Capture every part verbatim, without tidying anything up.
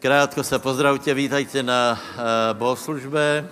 Krátko se pozdravte, vítajte na uh, bohoslužbe.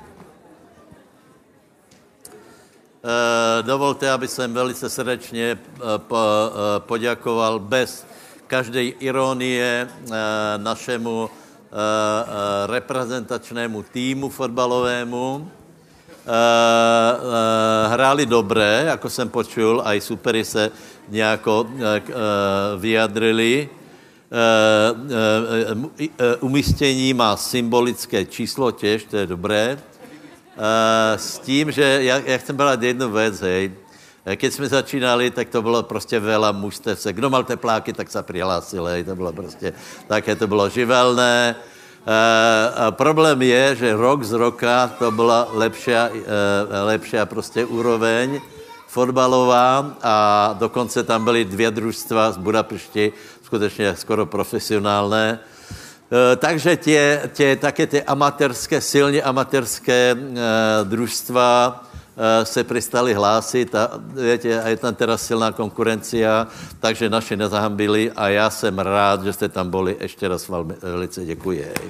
Uh, dovolte, aby jsem velice srdečně uh, po, uh, poděkoval bez každej ironie uh, našemu uh, uh, reprezentačnému týmu fotbalovému. Uh, uh, hráli dobré, jako jsem počul, aj superi se nějako uh, uh, vyjadrili. Uh, uh, uh, umístění má symbolické číslo těž, to je dobré. Uh, s tím, že já, já chcem brát jednu věc, hej. Keď jsme začínali, tak to bylo prostě veľa mužstev se. Kdo mal tepláky, tak se přihlásil, hej. To bylo prostě, také to bylo živelné. Uh, a problém je, že rok z roka to byla lepší, uh, lepší prostě úroveň fotbalová a dokonce tam byly dvě družstva z Budapešti, skutečně skoro profesionálné. E, takže tě, tě, také ty amatérské, silně amatérské e, družstva e, se přestali hlásit a, viete, a je tam teraz silná konkurencia, takže naši nezahambili a já jsem rád, že jste tam byli. Ještě raz vám velice děkuji. E,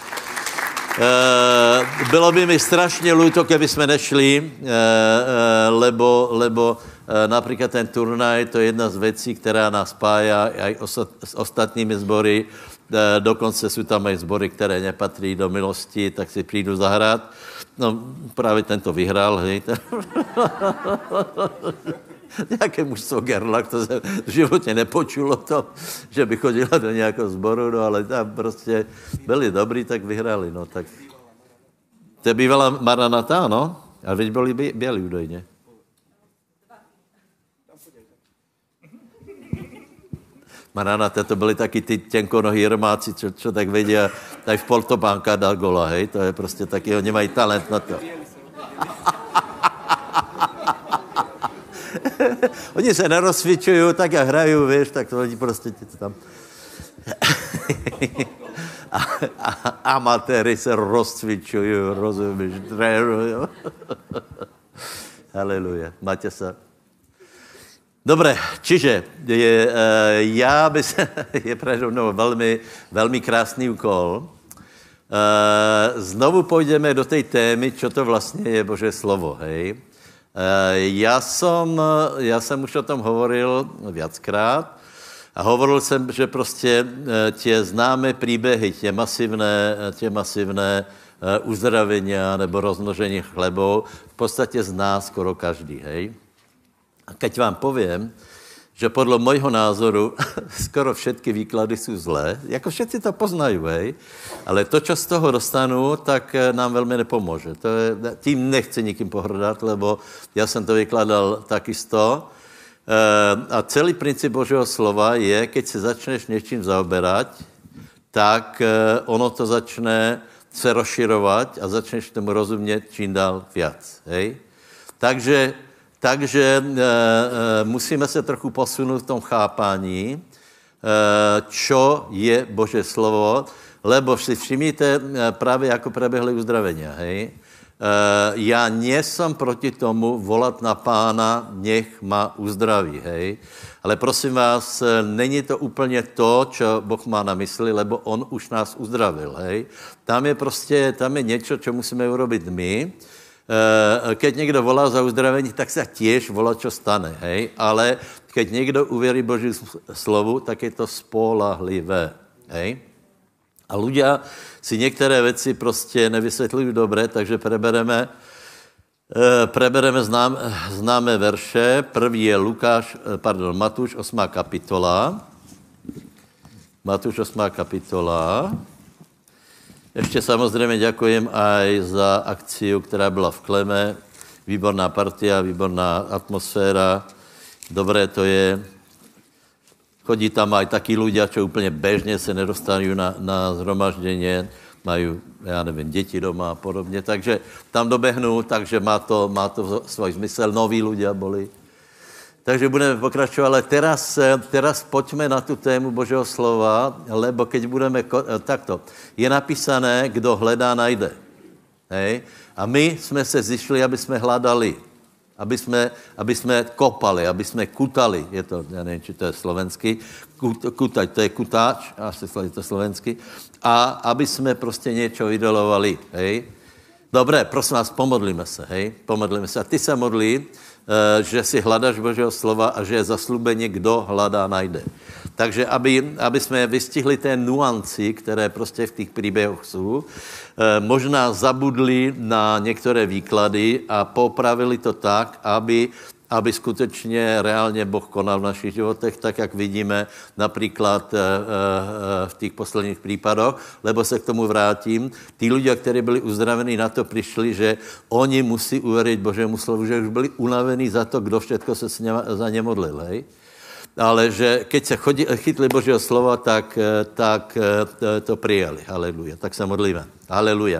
bylo by mi strašně ľúto, keby jsme nešli, e, e, lebo, lebo e, například ten turnaj, to je jedna z věcí, která nás spája aj ostat, s ostatními sbory. E, dokonce jsou tam aj sbory, které nepatří do milosti, tak si přijdu zahrát. No, právě tento vyhrál, hej. Nějaké mužstvo Gerlach, to se v životě nepočulo to, že by chodila do nějakého sboru, no ale tam prostě byli dobrý, tak vyhrali, no tak. To je bývala Maranata, no? A veď byli bělí údajně. Maranata, to byli taky ty těnkonohý romáci, čo, čo tak vedia, tak v Poltopánka dal gola, hej, to je prostě taky, oni mají talent na to. Oni se nerozcvičují, tak jak hrají, víš, tak to oni prostě to tam... a, a, amatéry se rozcvičují, rozumíš, trénují. Haleluja, máte se. Dobre, čiže je, já by se, je predo mnou velmi, velmi krásný úkol. Znovu půjdeme do té témy, čo to vlastně je Boží slovo, hej. Já jsem, já jsem už o tom hovoril viackrát a hovoril jsem, že prostě tě známé příběhy, tě masivné, tě masivné uzdravenia nebo rozmnožení chlebov v podstatě zná skoro každý, hej. A keď vám povím, že podle mojho názoru skoro všetky výklady jsou zlé, jako všetci to poznají, hej, ale to, čo z toho dostanu, tak nám velmi nepomůže. To je, tím nechci nikým pohrdat, lebo já jsem to vykladal takisto. A celý princip Božího slova je, keď se začneš něčím zaoberať, tak ono to začne se rozširovat a začneš tomu rozumět čím dál viac, hej. Takže Takže e, e, musíme se trochu posunout v tom chápání, e, čo je Boží slovo, lebo si všimnite, e, právě jako preběhly uzdravenia, hej. E, já nejsem proti tomu volat na Pána, nech ma uzdraví, hej. Ale prosím vás, není to úplně to, čo Boh má na mysli, lebo on už nás uzdravil, hej. Tam je prostě, tam je něco, čo musíme urobit my. Keď někdo volá za uzdravení, tak se tiež volá, čo stane, hej? Ale keď někdo uvěří Boží slovu, tak je to spolahlivé, hej? A ľudia si některé věci prostě nevysvětlují dobře, takže prebereme, prebereme znám, známé verše. První je Lukáš, pardon, Matúš osmá kapitola. Matúš osmá kapitola. Ještě samozřejmě děkujem aj za akciu, která byla v Kleme. Výborná partia, výborná atmosféra. Dobré to je. Chodí tam aj takí ľudia, čo úplně bežně se nedostanou na, na zhromaždění. Mají, já nevím, děti doma a podobně. Takže tam dobehnou, takže má to, má to svůj zmysel. Noví ľudia boli. Takže budeme pokračovat, ale teraz, teraz pojďme na tu tému Božího slova, lebo keď budeme, takto, je napísané, kdo hledá, najde. Hej? A my jsme se zišli, aby jsme hledali. A aby jsme, aby jsme kopali, aby jsme kutali, je to, já nevím, či to je slovenský, Kut, kutať, to je kutáč, až je to slovensky, a aby jsme prostě něco idolovali, hej. Dobré, prosím vás, pomodlíme se, hej, pomodlíme se. A ty se modlí, že si hledáš Božího slova a že je zaslúbení, kdo hledá, najde. Takže aby, aby jsme vystihli té nuanci, které prostě v těch příběhoch jsou, možná zabudli na některé výklady a popravili to tak, aby, aby skutečně reálně Boh konal v našich životech, tak jak vidíme například v těch posledních případoch, lebo se k tomu vrátím. Tí ľudia, kteří byli uzdravení, na to přišli, že oni musí uvěřit Božému slovu, že už byli unavení za to, kdo všetko se za ně modlil, hej? Ale že keď se chodí, chytli Božího slova, tak, tak to přijali. Haleluja. Tak se modlíme. Haleluja.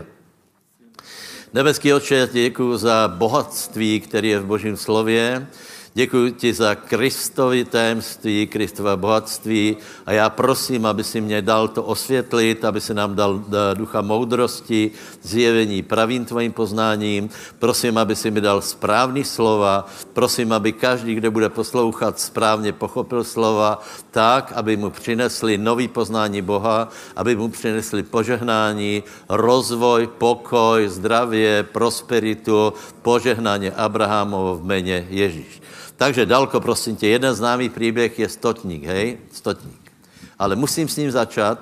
Nebeský Otče, já ti děkuju za bohatství, které je v Božím slově. Děkuji ti za Kristovi tajemství, Kristova bohatství a já prosím, aby si mě dal to osvětlit, aby si nám dal ducha moudrosti, zjevení pravým tvojím poznáním. Prosím, aby si mi dal správný slova. Prosím, aby každý, kdo bude poslouchat, správně pochopil slova tak, aby mu přinesli nový poznání Boha, aby mu přinesli požehnání, rozvoj, pokoj, zdravě, prosperitu, požehnání Abrahamovo v jméně Ježíš. Takže Dalko, prosím tě, jeden známý příběh je Stotník, hej? Stotník. Ale musím s ním začat,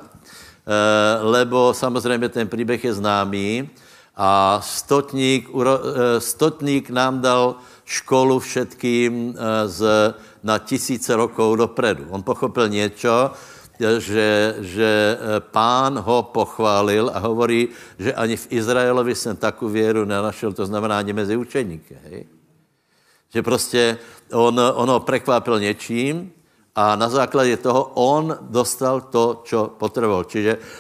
lebo samozřejmě ten příběh je známý a Stotník, Stotník nám dal školu všetkým z, na tisíce rokov dopredu. On pochopil něco, že, že Pán ho pochválil a hovorí, že ani v Izraelovi jsem takovou věru nenašel, to znamená ani mezi učeníky, hej? Že prostě on, on ho prekvápil něčím a na základě toho on dostal to, čo potreboval. Čiže e, e,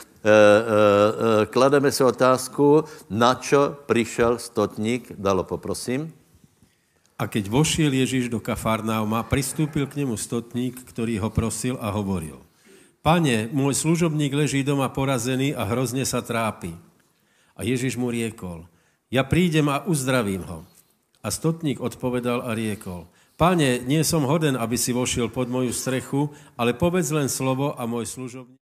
e, klademe si otázku, na čo přišel Stotník, Dalo, poprosím. A keď vošiel Ježíš do Kafarnauma, pristúpil k nemu Stotník, ktorý ho prosil a hovoril: Pane, môj služobník leží doma porazený a hrozne sa trápi. A Ježíš mu riekol: Ja prídem a uzdravím ho. A Stotník odpovedal a riekol: Pane, nie som hoden, aby si vošiel pod moju strechu, ale povedz len slovo a môj služobník...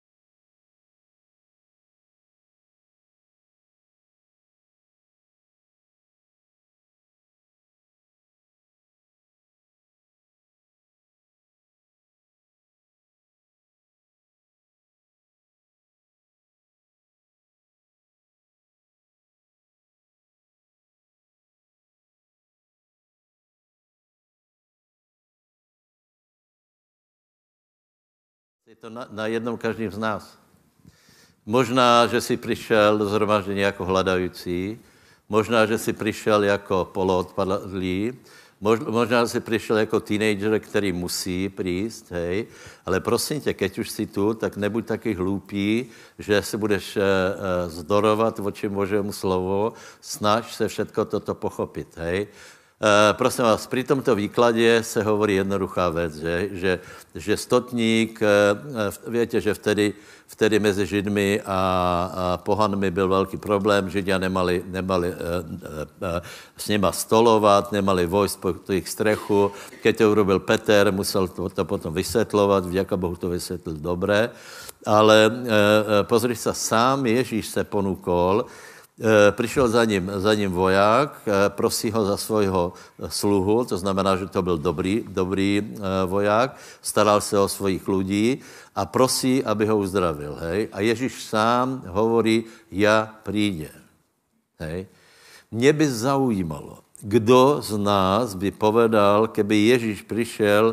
Je to na, na jednom každým z nás. Možná, že si přišel do zhromaždění jako hladající, možná, že si přišel jako poloodpadlý, možná, že si přišel jako teenager, který musí přijít, hej, ale prosím tě, keď už si tu, tak nebuď taky hloupý, že se budeš uh, zdorovat voči Božému slovu, snaž se všetko toto pochopit, hej. Uh, prosím vás, při tomto výkladě se hovorí jednoduchá věc, že, že, že Stotník, uh, víte, že vtedy, vtedy mezi Židmi a, a pohanmi byl velký problém, Židia nemali, nemali uh, uh, s nima stolovat, nemali vojsť po jejich strechu, keď to urobil Peter, musel to, to potom vysvětlovat, vďaka Bohu to vysvětlil dobré, ale uh, pozri se, sám Ježíš se ponúkol. Přišel za ním, za ním voják, prosí ho za svojho sluhu, to znamená, že to byl dobrý, dobrý voják, staral se o svojich lidí a prosí, aby ho uzdravil. Hej? A Ježíš sám hovorí, ja prídem. Hej? Mě by zaujímalo, kdo z nás by povedal, keby Ježíš přišel,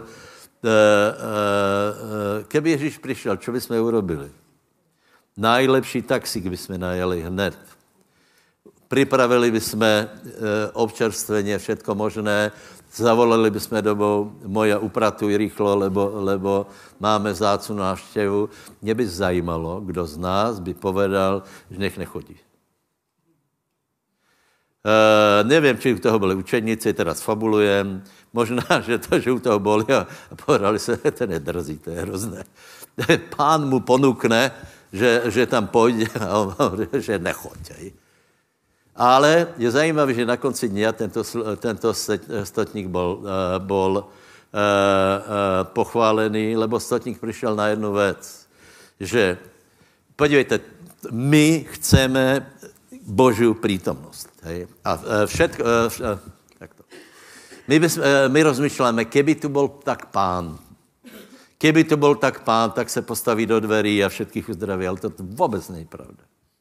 keby Ježíš přišel, čo by jsme urobili? Najlepší taxík by jsme najeli hned. Pripravili by sme občerstvenie, všetko možné, zavolali by sme domov, moja upratuj rýchlo, lebo, lebo máme vzácnu návštěvu. Mě by zajímalo, kdo z nás by povedal, že nech nechodí. E, nevím, či u toho byli učeníci, teraz fabulujem. Možná, že to, že u toho boli a povedali se, to nedrzí, to je hrozné. Pán mu ponúkne, že, že tam pôjde a on hovorí, že nechoď. Ale je zajímavé, že na konci dňa tento, tento stotník bol, bol pochválený, lebo stotník prišiel na jednu vec, že podívejte, my chceme Božiu prítomnosť. Hej? A všetko... Takto. My, bys, my rozmýšľame, keby tu bol tak pán, keby tu bol tak pán, tak se postaví do dverí a všetkých uzdraví, ale to vôbec nie je pravda.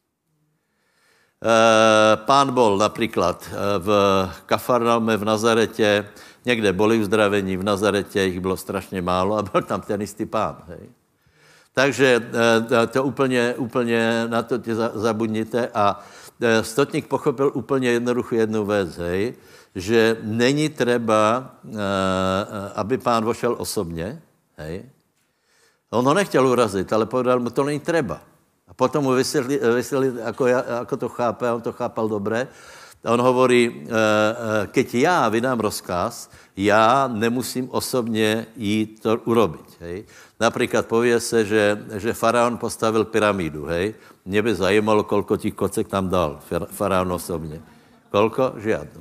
Pán bol napríklad v Kafarnaume v Nazarete, niekde boli uzdravení, v Nazarete ich bylo strašne málo a byl tam ten istý pán. Hej? Takže to úplně, úplně na to tě zabudnite a stotník pochopil úplně jednoduchou jednu věc, hej, že není třeba, aby pán vošel osobně, hej. On ho nechtěl urazit, ale povedal mu, to není třeba. A potom mu vysvětlil, vysvětlil ako, ako to chápe, a on to chápal dobře. A on hovorí, keď já vydám rozkaz, já nemusím osobně jít to urobiť, hej. Napríklad povie se, že, že faraón postavil pyramídu, hej. Mne by zajímalo, koľko tých kocek tam dal faraón osobně. Koľko? Žiadno.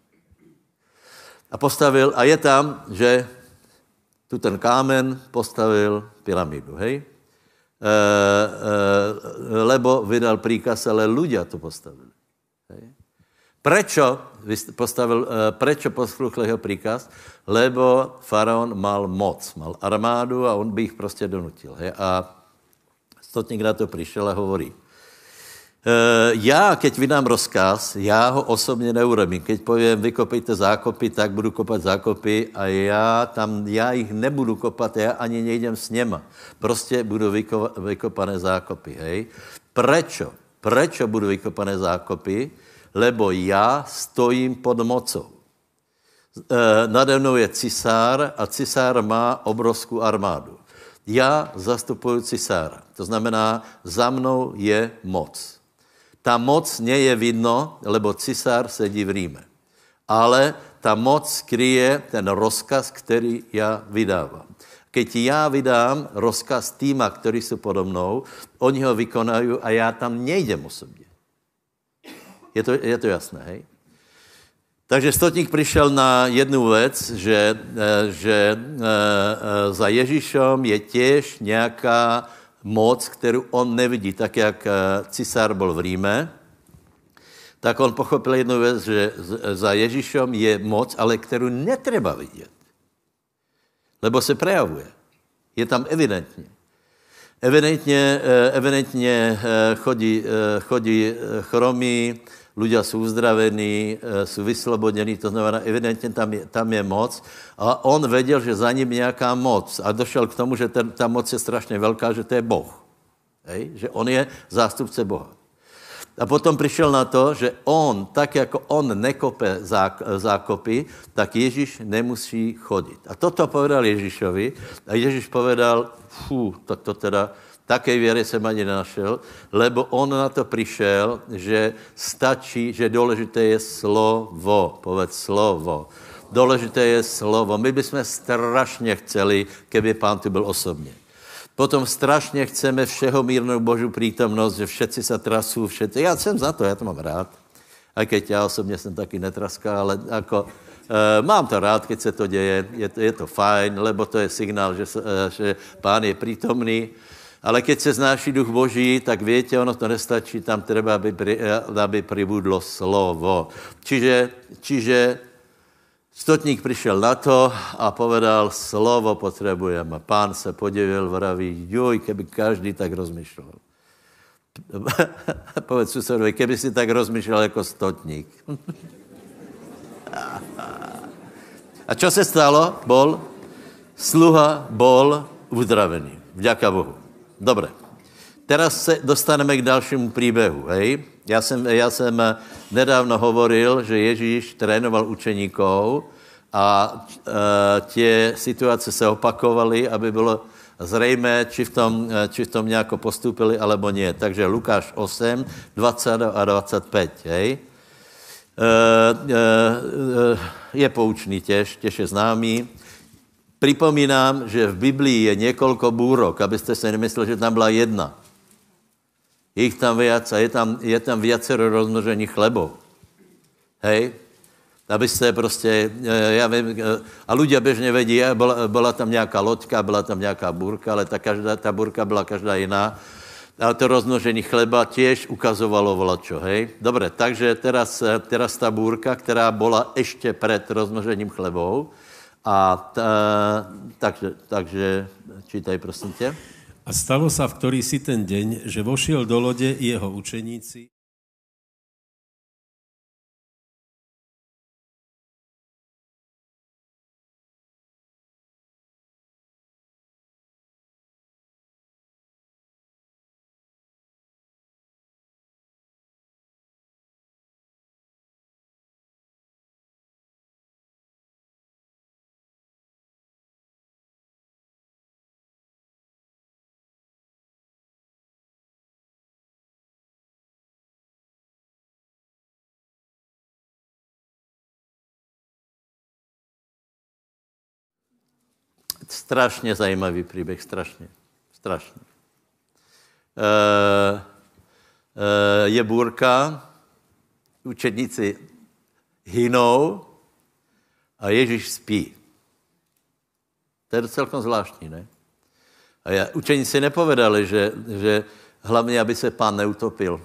A postavil, a je tam, že tu ten kámen postavil pyramídu, hej. E, e, lebo vydal príkaz, ale ľudia to postavili, hej. Prečo postavil, prečo posluchl jeho príkaz? Lebo faraón mal moc, mal armádu a on by ich prostě donutil. Hej? A stotník na to přišel a hovorí, e, já, keď vydám rozkaz, já ho osobně neurobím. Keď povím, vykopejte zákopy, tak budu kopat zákopy a já tam, já jich nebudu kopat, já ani nejdem s něma. Prostě budu vyko, vykopané zákopy. Hej? Prečo? Prečo budu vykopané zákopy? Lebo já stojím pod mocou. E, nade mnou je cisár a cisár má obrovskou armádu. Já zastupuju cisára. To znamená, za mnou je moc. Ta moc nie je vidno, lebo cisár sedí v Ríme. Ale ta moc skryje ten rozkaz, který já vydávám. Keď já vydám rozkaz týma, ktorí jsou podo mnou, oni ho vykonají a já tam nejdem osobně. Je to, je to jasné, hej? Takže stotník přišel na jednu věc, že, že za Ježíšom je těž nějaká moc, kterou on nevidí. Tak, jak cisár byl v Ríme, tak on pochopil jednu věc, že za Ježíšom je moc, ale kterou netreba vidět. Lebo se prejavuje. Je tam evidentně. Evidentně, evidentně chodí, chodí chromí, ľudia sú uzdravení, sú vyslobodení, to znamená, evidentně tam je, tam je moc. A on věděl, že za ním nějaká moc. A došel k tomu, že ten, ta moc je strašně velká, že to je Boh. Hej? Že on je zástupce Boha. A potom přišel na to, že on, tak jako on nekope zákopy, tak Ježíš nemusí chodit. A toto povedal Ježíšovi. A Ježíš povedal, fú, tak to teda... Také věry jsem ani nenašel, lebo on na to přišel, že stačí, že důležité je slovo. Povedz slovo. Důležité je slovo. My bychom strašně chceli, keby pán tu byl osobně. Potom strašně chceme všeho mírnou Boží prítomnost, že všetci se trasou, všetci. Já jsem za to, já to mám rád. A keď já osobně jsem taky netraská, ale jako... Uh, mám to rád, keď se to děje, je to, je to fajn, lebo to je signál, že, uh, že pán je prítomný. Ale keď se znáší duch Boží, tak viete, ono to nestačí, tam treba, aby, pri, aby pribudlo slovo. Čiže, čiže stotník přišel na to a povedal, slovo potřebujeme. A pán se podivil, vraví, joj, keby každý tak rozmýšlel. Povedz susedovi, keby si tak rozmýšlel jako stotník. A čo se stalo? Bol, sluha bol uzdravený. Vďaka Bohu. Dobre. Teraz se dostaneme k dalšímu příběhu, hej? Já jsem, já jsem nedávno hovoril, že Ježíš trénoval učeníkov a e, tie situace se opakovaly, aby bylo zřejmé, či v tom, či v tom nějako postupili, alebo nie. Takže Lukáš osm, dvacet a dvacet pět, hej? E, e, je poučný těž, těž je známý. Připomínám, že v Biblii je několik bůrok, abyste se nemysleli, že tam byla jedna. Je ich tam viac a je tam, je tam viacero rozmnožení chlebov. Hej? Aby ste proste, ja viem, a ľudia bežne vedia, bola, bola tam nejaká loďka, bola tam nejaká búrka, ale tá, každá, tá búrka bola každá iná. A to rozmnožení chleba tiež ukazovalo volačo, hej? Dobre, takže teraz, teraz tá búrka, ktorá bola ešte pred rozmnožením chlebov, a tá, takže, takže čítaj, prosím ťa. A stalo sa v ktorý si ten deň, že vošiel do lode jeho učeníci. Strašne zajímavý príbeh, strašne. Strašne. E, e, je búrka, učedníci hynou a Ježíš spí. To je celkom zvláštní, ne? A ja, učeníci nepovedali, že, že hlavne, aby se pán neutopil.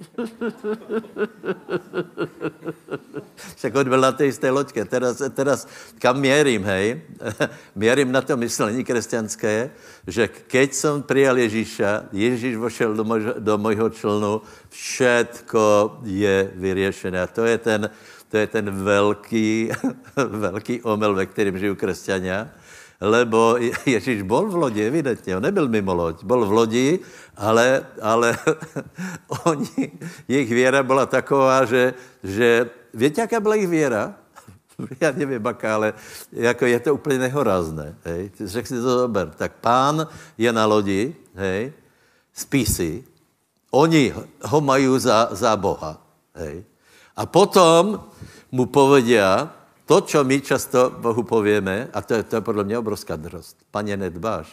Však on byl na té isté loďke. Teraz, teraz kam mierim, hej? Mierim na to myslení kresťanské, že keď som prijal Ježíša, Ježíš vošel do, moj, do mojho člnu, všetko je vyriešené. A to je ten, to je ten veľký, veľký omyl, ve kterým žijú kresťania. Lebo Ježíš bol v lodi, evidentně, on nebyl mimo loď, bol v lodi, ale, ale oni, jejich věra byla taková, že, že víte, jaká byla jejich věra? Já nevím, aká, ale jako je to úplně nehorázné, hej? Řek si to dober. Tak pán je na lodi, hej? Spí si, oni ho mají za, za Boha, hej? A potom mu povedia, to, čo my často Bohu povieme, a to je, to je podľa mňa obrovská drost. Pane, nedbáš.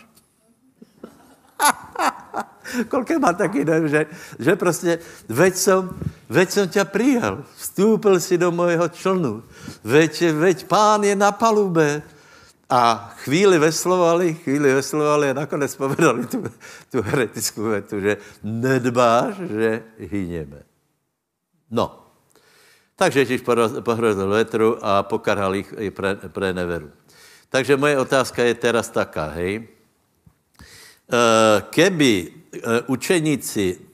Koľko má taký dojem, že, že proste, veď som, veď som ťa prijal, vstúpil si do mojho člnu, veď, veď pán je na palube. A chvíli veslovali, chvíli veslovali a nakonec povedali tú, tú heretickú vetu, že nedbáš, že hynieme. No. Takže Ježíš pohrozil vetru a pokarhal ich pre, pre neveru. Takže moje otázka je teraz taká, hej. Keby učeníci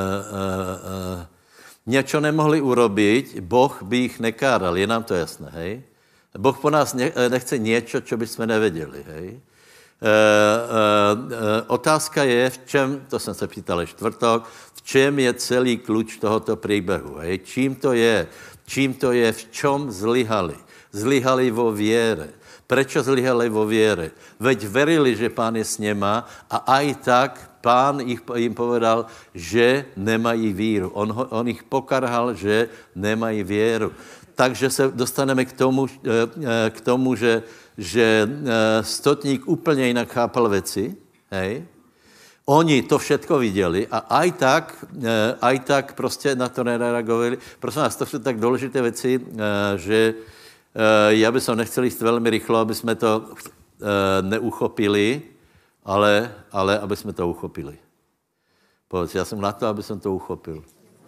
niečo nemohli urobiť, Boh by ich nekáral, je nám to jasné, hej. Boh po nás nechce niečo, čo by sme nevedeli, hej. E, e, e, otázka je, v čem, to jsem se pýtal čtvrtok, v čem je celý kľúč tohoto príbehu, hej? Čím to je? Čím to je? V čom zlyhali? Zlyhali vo viere. Prečo zlyhali vo viere? Veď verili, že pán je s nema a aj tak pán ich, im povedal, že nemají víru. On, on ich pokarhal, že nemají vieru. Takže se dostaneme k tomu, k tomu že, že stotník úplně jinak chápal věci, hej. Oni to všetko viděli a aj tak, aj tak prostě na to nereagovali. Prosím vás, to jsou tak důležité věci, že já bych som nechcel jít velmi rychlo, aby jsme to neuchopili, ale, ale aby jsme to uchopili. Povedz, já jsem na to, aby jsem to uchopil.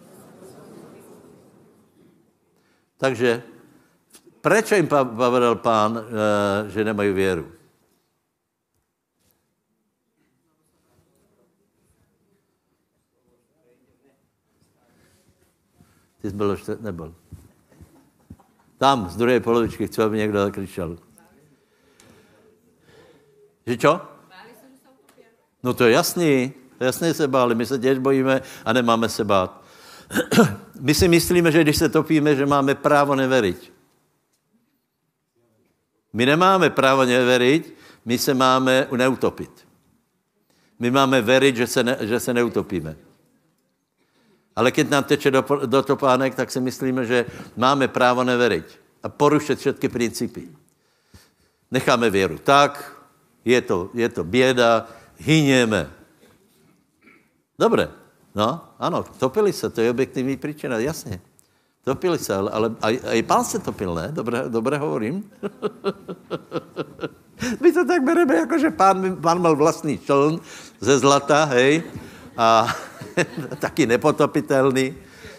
Takže prečo im povedal pán, že nemají věru? Ty jsi byl, nebyl. Tam, z druhé polovičky, chci, aby někdo zakričel. Že čo? No to je jasný, jasně se báli, my se těž bojíme a nemáme se bát. My si myslíme, že když se topíme, že máme právo neveriť. My nemáme právo neveriť, my se máme neutopit. My máme veriť, že se, ne, že se neutopíme. Ale keď nám teče do, do topánek, tak si myslíme, že máme právo neveriť a porušit všetky principy. Necháme věru tak, je to, je to bieda, hynieme. Dobre. No, ano, topili se, to je objektivní příčina, jasně. Topili se, ale, ale aj, aj pán se topil, ne? Dobre, dobre hovorím? My to tak bereme, jako že pán, pán mal vlastný čln ze zlata, hej, a taky nepotopitelný.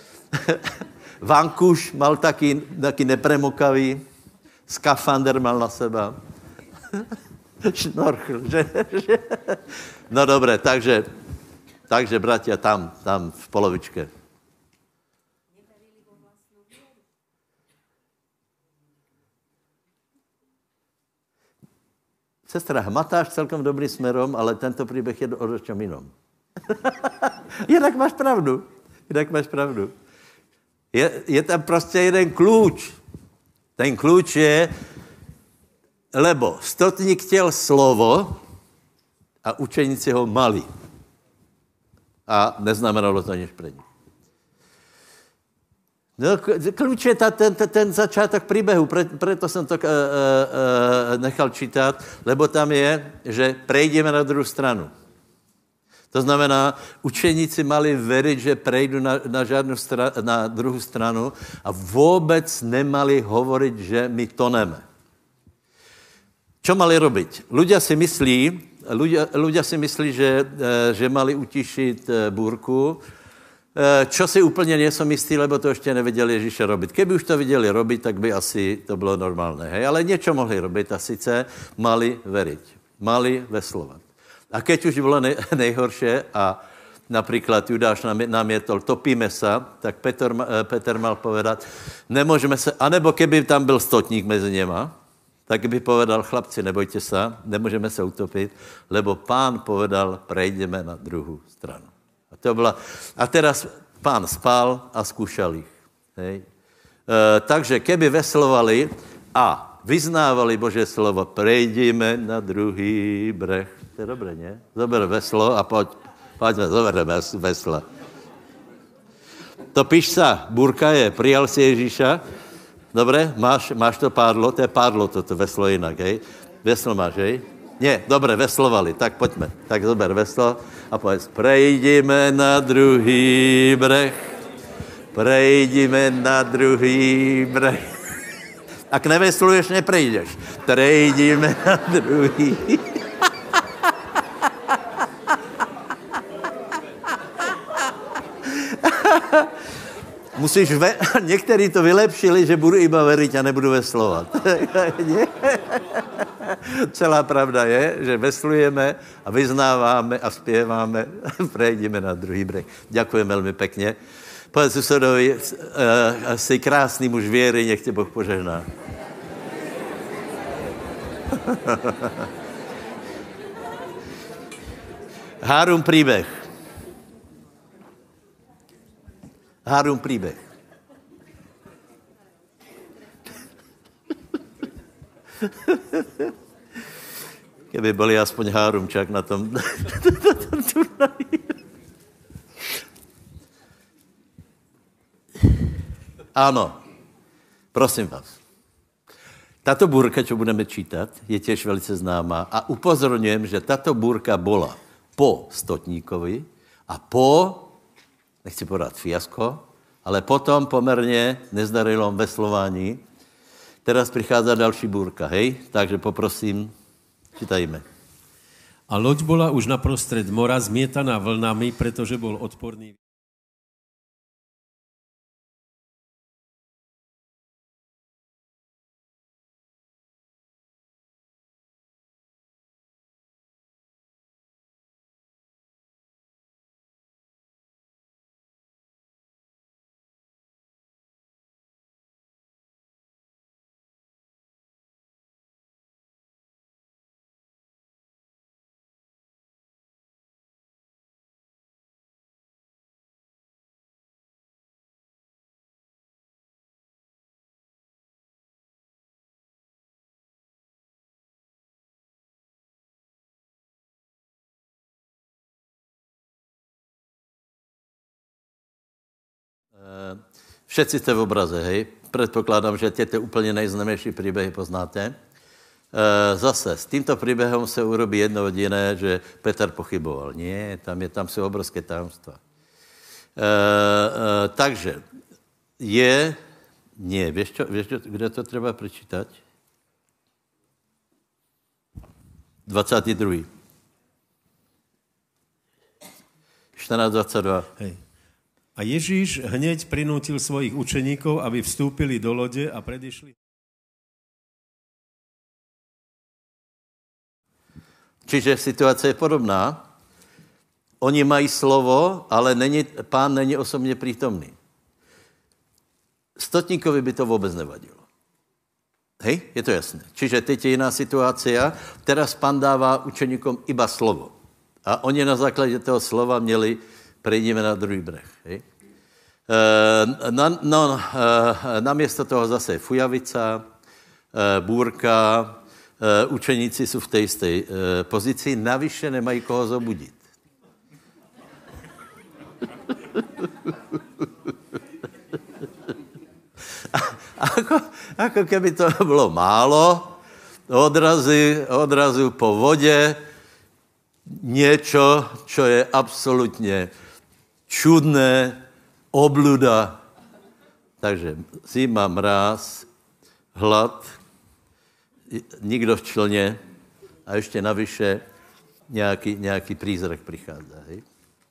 Vankuš mal taky, taky nepremokavý, skafander mal na seba. Šnorchl, že, že? No dobré, takže, takže bratia, tam, tam v polovičke. Sestra, matáš celkom dobrý smerom, ale tento příběh je o čem jinom. Jinak máš pravdu. Jinak máš pravdu. Je, je tam prostě jeden klíč. Ten klíč je, lebo stotník chtěl slovo a učeníci ho mali. A neznamenalo to nič pre nich. No, klíč je ta, ten, ten začátek příběhu, pre, preto jsem to uh, uh, nechal čítat, lebo tam je, že prejdeme na druhou stranu. To znamená, učeníci mali veriť, že prejdu na, na, žádnou stra, na druhou stranu a vůbec nemali hovoriť, že my toneme. Čo mali robiť? Ľudia si myslí, ľudia, ľudia si myslí, že, že mali utišiť búrku, čo si úplně nejsem jistý, lebo to ještě neviděli Ježíše robit. Keby už to viděli robit, tak by asi to bylo normálné. Hej? Ale něco mohli robit a sice mali veriť. Mali veslovat. A keď už bylo nej, nejhorší a například Judáš namietol, topíme se, tak Petr, Petr mal povedat, nemůžeme se, anebo keby tam byl stotník mezi něma, tak by povedal, chlapci, nebojte se, nemůžeme se utopit, lebo pán povedal, prejdeme na druhou stranu. A, to byla, a teraz pán spal a skúšal ich. Hej. E, takže keby veslovali a vyznávali Božie slovo, prejdeme na druhý breh. To je dobré, ne? Zober veslo a pojď, pojďme, zobereme vesla. To píš sa, búrka je, prijal si Ježíša, dobre, máš, máš to pádlo, to je pádlo toto veslo jinak, hej? Veslo máš, hej? Nie, dobre, veslovali, tak pojďme. Tak zober veslo a povedz, prejdime na druhý breh, prejdime na druhý breh. Ak nevesluješ, neprejdeš. Prejdime na druhý. Musíš, ve... někteří to vylepšili, že budu iba veriť a nebudu veslovat. Celá pravda je, že veslujeme a vyznáváme a zpěváme, prejdeme na druhý breh. Ďakujem velmi pekne. Povedz susedovi, uh, jsi krásný muž věry, nech tě Boh požehná. Hárum príbeh. Hárum príbeh. Keby boli aspoň Hárumčák na tom, na tom turnaji. Áno, prosím vás. Tato búrka, čo budeme čítať, je tiež velice známa a upozorňujem, že tato búrka bola po stotníkovi a po, nechci povedať fiasko, ale potom pomerne nezdarilom veslování. Teraz prichádza další búrka, hej? Takže poprosím, čítajme. A loď bola už naprostred mora zmietaná vlnami, pretože bol odporný. Všetci jste v obraze, hej? Předpokládám, že těte úplně nejznámější příběhy poznáte. Zase, s tímto příběhem se urobí jedno jediné, že Petr pochyboval. Nie, tam, je, tam jsou obrovské tajemstva. takže je, nie, vieš čo, vieš čo, kde to treba prečítať? dvadsiaty druhý štrnásť dvadsaťdva. Hej. A Ježíš hneď prinútil svojich učeníkov, aby vstúpili do lode a predišli. Čiže situácia je podobná. Oni mají slovo, ale není, pán není osobně prítomný. Stotníkovi by to vůbec nevadilo. Hej, je to jasné. Čiže teď je jiná situácia. Teraz pán dává učeníkom iba slovo. A oni na základě toho slova měli, prejdeme na druhý breh. Hej. E, na, no, e, namiesto toho zase fujavica, e, bůrka, e, učeníci jsou v té jisté e, pozici, navyše nemají koho zobudit. Ako, ako keby to bylo málo, odrazy, odrazu po vodě, niečo, čo je absolutně čudné, obluda. Takže zima, mráz, hlad, nikdo v člně a ještě navyše nějaký, nějaký prízrak přichází. Hej?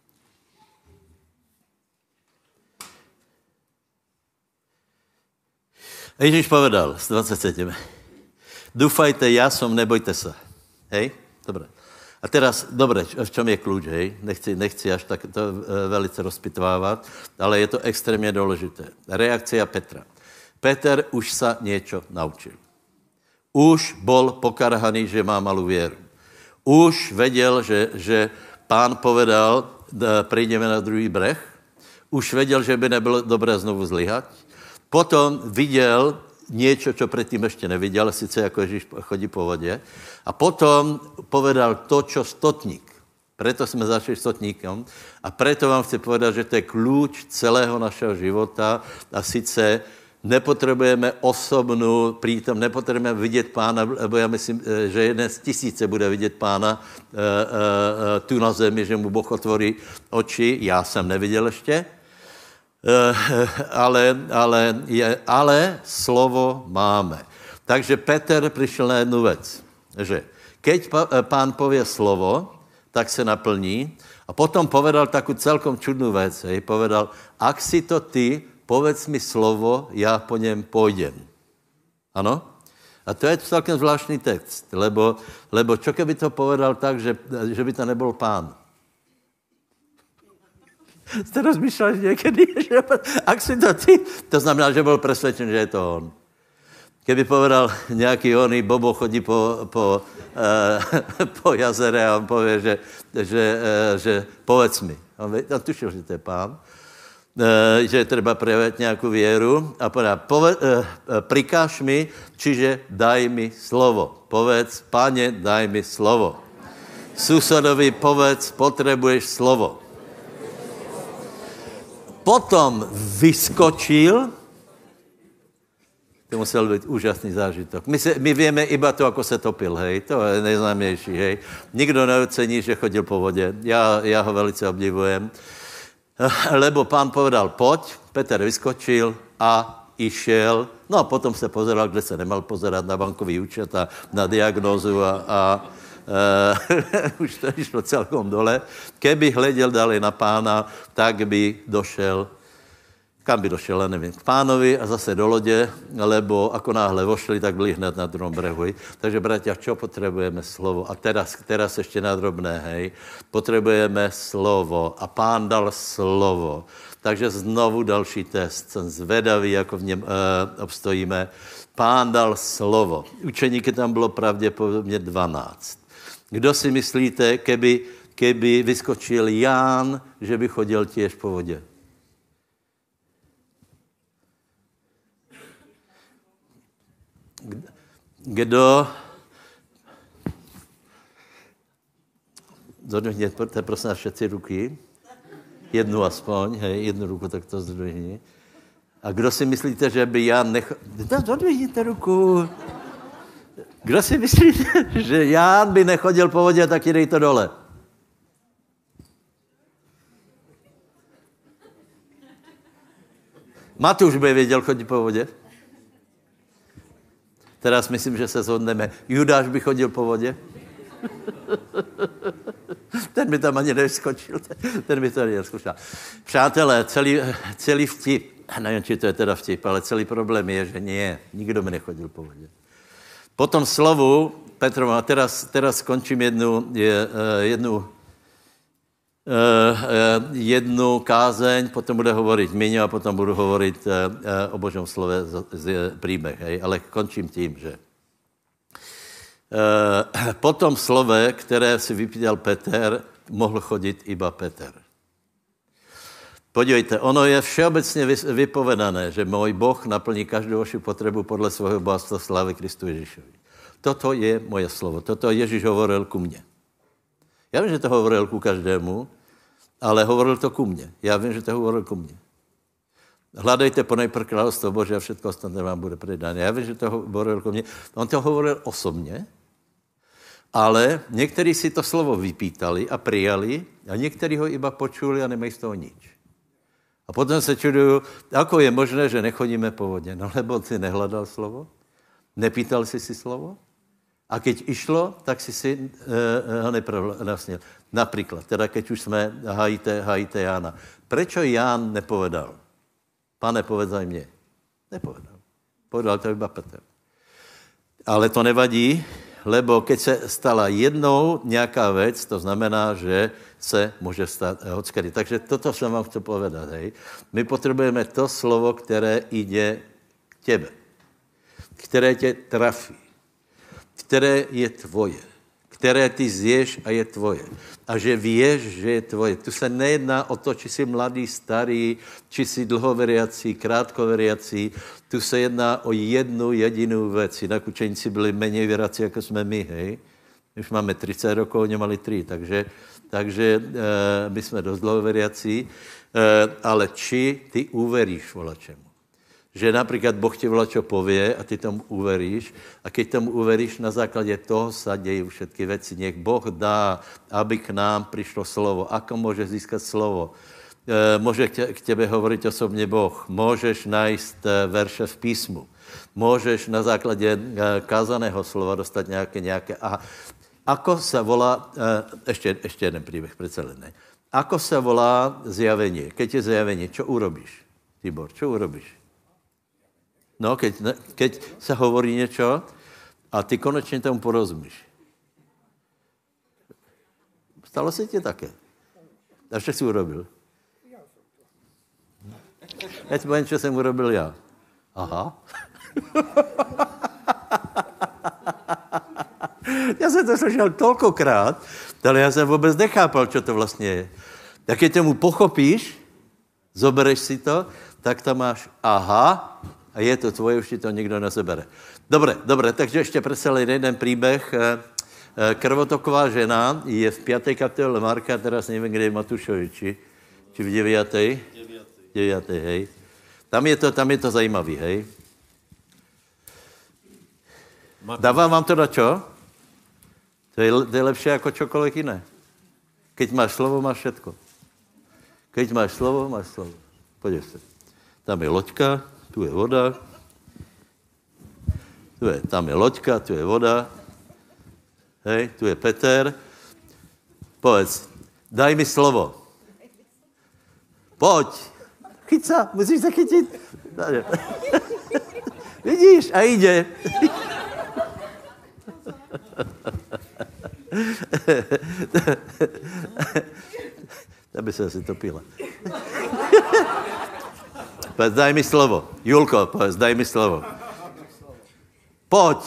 A Ježíš povedal, dvadsiaty sedem. Dúfajte, ja som, nebojte sa. Hej? Dobre. A teraz, dobre, v čom je kľúč, hej? Nechci, nechci až tak to velice rozpitvávat, ale je to extrémně důležité. Reakcia Petra. Peter už sa niečo naučil. Už bol pokarhaný, že má malú vieru. Už vedel, že, že pán povedal, prejdeme na druhý breh. Už vedel, že by nebylo dobré znovu zlyhať. Potom viděl niečo, čo predtým ešte neviděl, sice jako Ježíš chodí po vodě. A potom povedal to, čo stotník. Preto jsme začali stotníkom. A preto vám chci povedať, že to je kľúč celého našeho života. A sice nepotřebujeme osobnou prítom, nepotřebujeme vidět pána, lebo já myslím, že jeden z tisíce bude vidět pána e, e, tu na zemi, že mu Boh otvorí oči. Já jsem neviděl ještě. Uh, ale, ale, je, ale slovo máme. Takže Peter přišel na jednu věc, že keď pán povie slovo, tak se naplní a potom povedal takú celkom čudnou věc. Hej, povedal, ak si to ty, povedz mi slovo, já po něm pôjdem. Ano? A to je celkem zvláštní text, lebo, lebo čo keby to povedal tak, že, že by to nebyl pán? Jste rozmýšleli někdy, že ak si to ty, to znamená, že byl presvedčen, že je to on. Keby povedal nějaký oný, Bobo chodí po, po, eh, po jazere a on pově, že, že, eh, že povedz mi. On, on tušil, že to je pán, eh, že je treba prejavit nějakou věru a povedá, pove, eh, prikáž mi, čiže daj mi slovo. Povedz, Pane, daj mi slovo. Susedovi povedz, potřebuješ slovo. Potom vyskočil, to musel být úžasný zážitok. My, se, my víme iba to, ako se topil, hej, to je nejznámější, hej. Nikdo neocení, že chodil po vodě, já, já ho velice obdivujem, lebo pán povedal, pojď, Petr vyskočil a išel, no a potom se pozeral, kde se nemal pozerat, na bankový účet a na diagnózu a, a Uh, už to išlo celkom dole. Keby hleděl dali na pána, tak by došel, kam by došel, nevím, k pánovi a zase do lodě, lebo ako náhle vošli, tak byli hned na druhom brehu. Takže, bratia, čo potřebujeme? Slovo. A teraz, teraz ještě na drobné, hej. Potřebujeme slovo. A pán dal slovo. Takže znovu další test. Jsem zvedavý, jako v něm uh, obstojíme. Pán dal slovo. Učeníky tam bylo pravděpodobně dvanáct. Kdo si myslíte, keby, keby vyskočil Ján, že by chodil tiež po vodě? Kdo? Zodvihněte, prosím, všetci ruky. Jednu aspoň, hej, jednu ruku, tak to zdvihni. A kdo si myslíte, že by Ján nechal... Zodvihněte ruku. Kdo si myslíte, že Ján by nechodil po vodě, tak dej to dole. Matúš by věděl chodit po vodě. Teraz myslím, že se shodneme. Judáš by chodil po vodě. Ten by tam ani neskočil. Ten by to ani neskušal. Přátelé, celý, celý vtip, nevím, či to je teda vtip, ale celý problém je, že nie, nikdo by nechodil po vodě. Po tom slovu, Petro, a teraz, teraz skončím jednu, je, jednu, jednu kázeň, potom bude hovoriť Miňo a potom budu hovoriť o Božom slove z príbeh. Hej? Ale končím tím, že po tom slove, které si vypítal Peter, mohl chodit iba Peter. Podívejte, ono je všeobecně vypovedané, že můj Boh naplní každou vaši potřebu podle svého bohatstva slávy Kristu Ježíšovi. Toto je moje slovo. Toto Ježíš hovoril ku mně. Já vím, že to hovoril ku každému, ale hovoril to ku mně. Já vím, že to hovoril ku mně. Hľadajte ponejprv kráľovstvo Bože a všetko ostatné vám bude predané. Já vím, že to hovoril ku mně. On to hovoril osobně, ale někteří si to slovo vypítali a prijali a někteří ho iba počuli a nemají z toho nič. A potom se čudujú, ako je možné, že nechodíme po vodě. No lebo si nehledal slovo, nepýtal si si slovo a keď išlo, tak si si uh, ho nepravnasnil. Napríklad, teda keď už jsme hajite, hajite Jána. Prečo Ján nepovedal? Pane, povedzaj mne. Nepovedal. Povedal to iba Petr. Ale to nevadí, lebo keď se stala jednou nějaká věc, to znamená, že se může stát hockedy. Takže toto jsem vám chtěl povedat. Hej. My potřebujeme to slovo, které jde k tebe, které tě trafí, které je tvoje, které ty zješ a je tvoje. A že vieš, že je tvoje. Tu se nejedná o to, či jsi mladý, starý, či jsi dlhoveriací, krátkoveriací. Tu se jedná o jednu jedinou věc. Jinak učeníci byli méně věrací, jako jsme my, hej. My už máme tridsať rokov, oni mali tri, takže, takže e, my jsme dost dlhoveriací. E, ale či ty uveríš volačemu? Že napríklad Boh ti volačo povie a ty tomu uveríš a keď tomu uveríš, na základě toho sa dejí všetky veci. Nech Boh dá, aby k nám prišlo slovo. Ako môže získať slovo? E, môže k tebe hovoriť osobne Boh. Môžeš nájsť verše v písmu. Môžeš na základě kázaného slova dostať nejaké, nejaké. A ako sa volá, e, ešte, ešte jeden príbeh, predsa len ne. Ako sa volá zjavenie? Keď je zjavenie, čo urobíš? Tibor, čo urobíš? No, keď, keď sa hovorí niečo a ty konečne tomu porozumíš. Stalo se ti také? A čo si urobil? Ja ti poviem, čo som urobil ja. Aha. Ja som to slyšel toľkokrát, ale ja som vôbec nechápal, čo to vlastne je. Tak keď tomu pochopíš, zobereš si to, tak tam máš aha, a je to tvoje, už ti to nikdo nezabere. Dobre, dobre, takže ešte predstavili jeden príbeh. Krvotoková žena je v piatej kapitole Marka, teraz neviem, kde je Matúšovi, či, či v deviatej? deviatej, hej. Tam je to, tam je to zajímavý, hej. Dávám vám to na čo? To je, to je lepšie ako čokoľvek iné. Keď máš slovo, máš všetko. Keď máš slovo, máš slovo. Poďte sa. Tam je loďka, tu je voda, tu je, tam je loďka, tu je voda, hej, tu je Peter. Povedz, daj mi slovo. Poď. Chyť sa, musíš sa chytiť. Vidíš, a ide. Aby sa si topila. Povedz, daj mi slovo. Julko, povedz, daj mi slovo. Poď.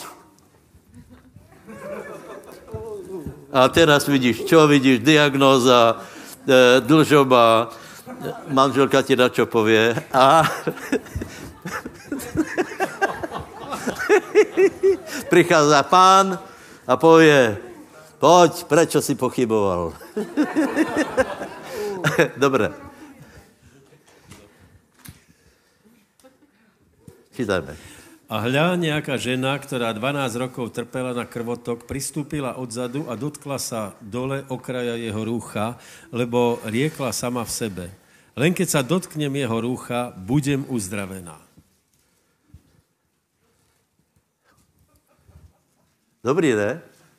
A teraz vidíš, čo vidíš? Diagnóza, e, dlžoba, manželka ti na čo povie. A prichádza pán a povie, poď, prečo si pochyboval? Dobre. Čítajme. A hľa, nejaká žena, ktorá dvanásť rokov trpela na krvotok, pristúpila odzadu a dotkla sa dole okraja jeho rúcha, lebo riekla sama v sebe. Len keď sa dotknem jeho rúcha, budem uzdravená. Dobrý, ne?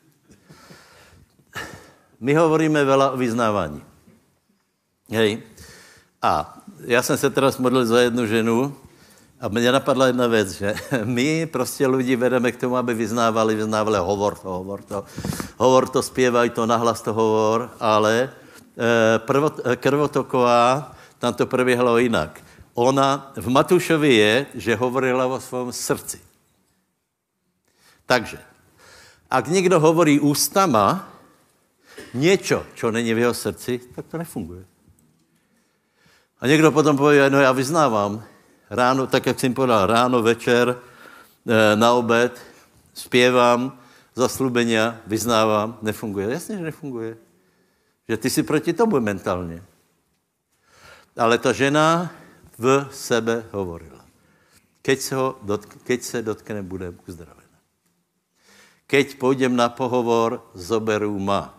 My hovoríme veľa o vyznávaní. Hej. A ja som sa teraz modlil za jednu ženu a mne napadla jedna vec, že my prostě ľudí vedeme k tomu, aby vyznávali, vyznávali, hovor to, hovor to, hovor to, spievaj to, nahlas to hovor, ale e, prvot, krvotoková, tam to prebiehalo inak. Ona v Matúšovi je, že hovorila vo svojom srdci. Takže, ak někdo hovorí ústama niečo, čo není v jeho srdci, tak to nefunguje. A někdo potom povie, no já vyznávám ráno, tak jak jsem povedal, ráno, večer, na obed, zpěvám, zaslúbenia, vyznávám, nefunguje. Jasně, že nefunguje. Že ty si proti tomu mentálně. Ale ta žena v sebe hovorila. Keď se, ho dotk- keď se dotkne, bude uzdravená. Keď pôjdem na pohovor, zoberú ma.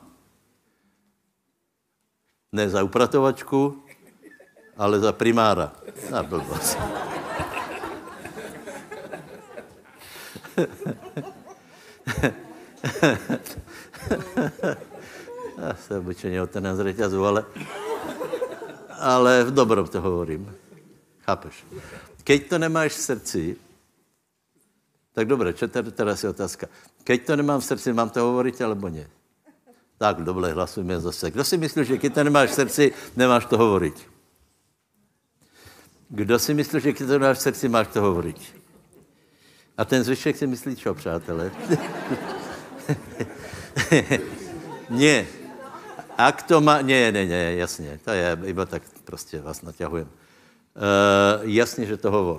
Ne za upratovačku, ale za primára. Na blbosť. Já se obyčejně otrhnem z reťazu, ale, ale v dobrom to hovorím. Chápeš? Keď to nemáš v srdci, tak dobré, čo teraz je otázka. Keď to nemám v srdci, mám to hovoriť, alebo nie? Tak, dobre, hlasujeme zase. Kdo si myslí, že keď to nemáš v srdci, nemáš to hovoriť? Kdo si myslí, že keď to nemáš v srdci, máš to hovoriť? A ten zvyšek si myslí čo, přátelé? Nie. Ak to má... Nie, nie, nie, jasně. To je iba tak prostě vás naťahujem. Uh, jasně, že to hovor.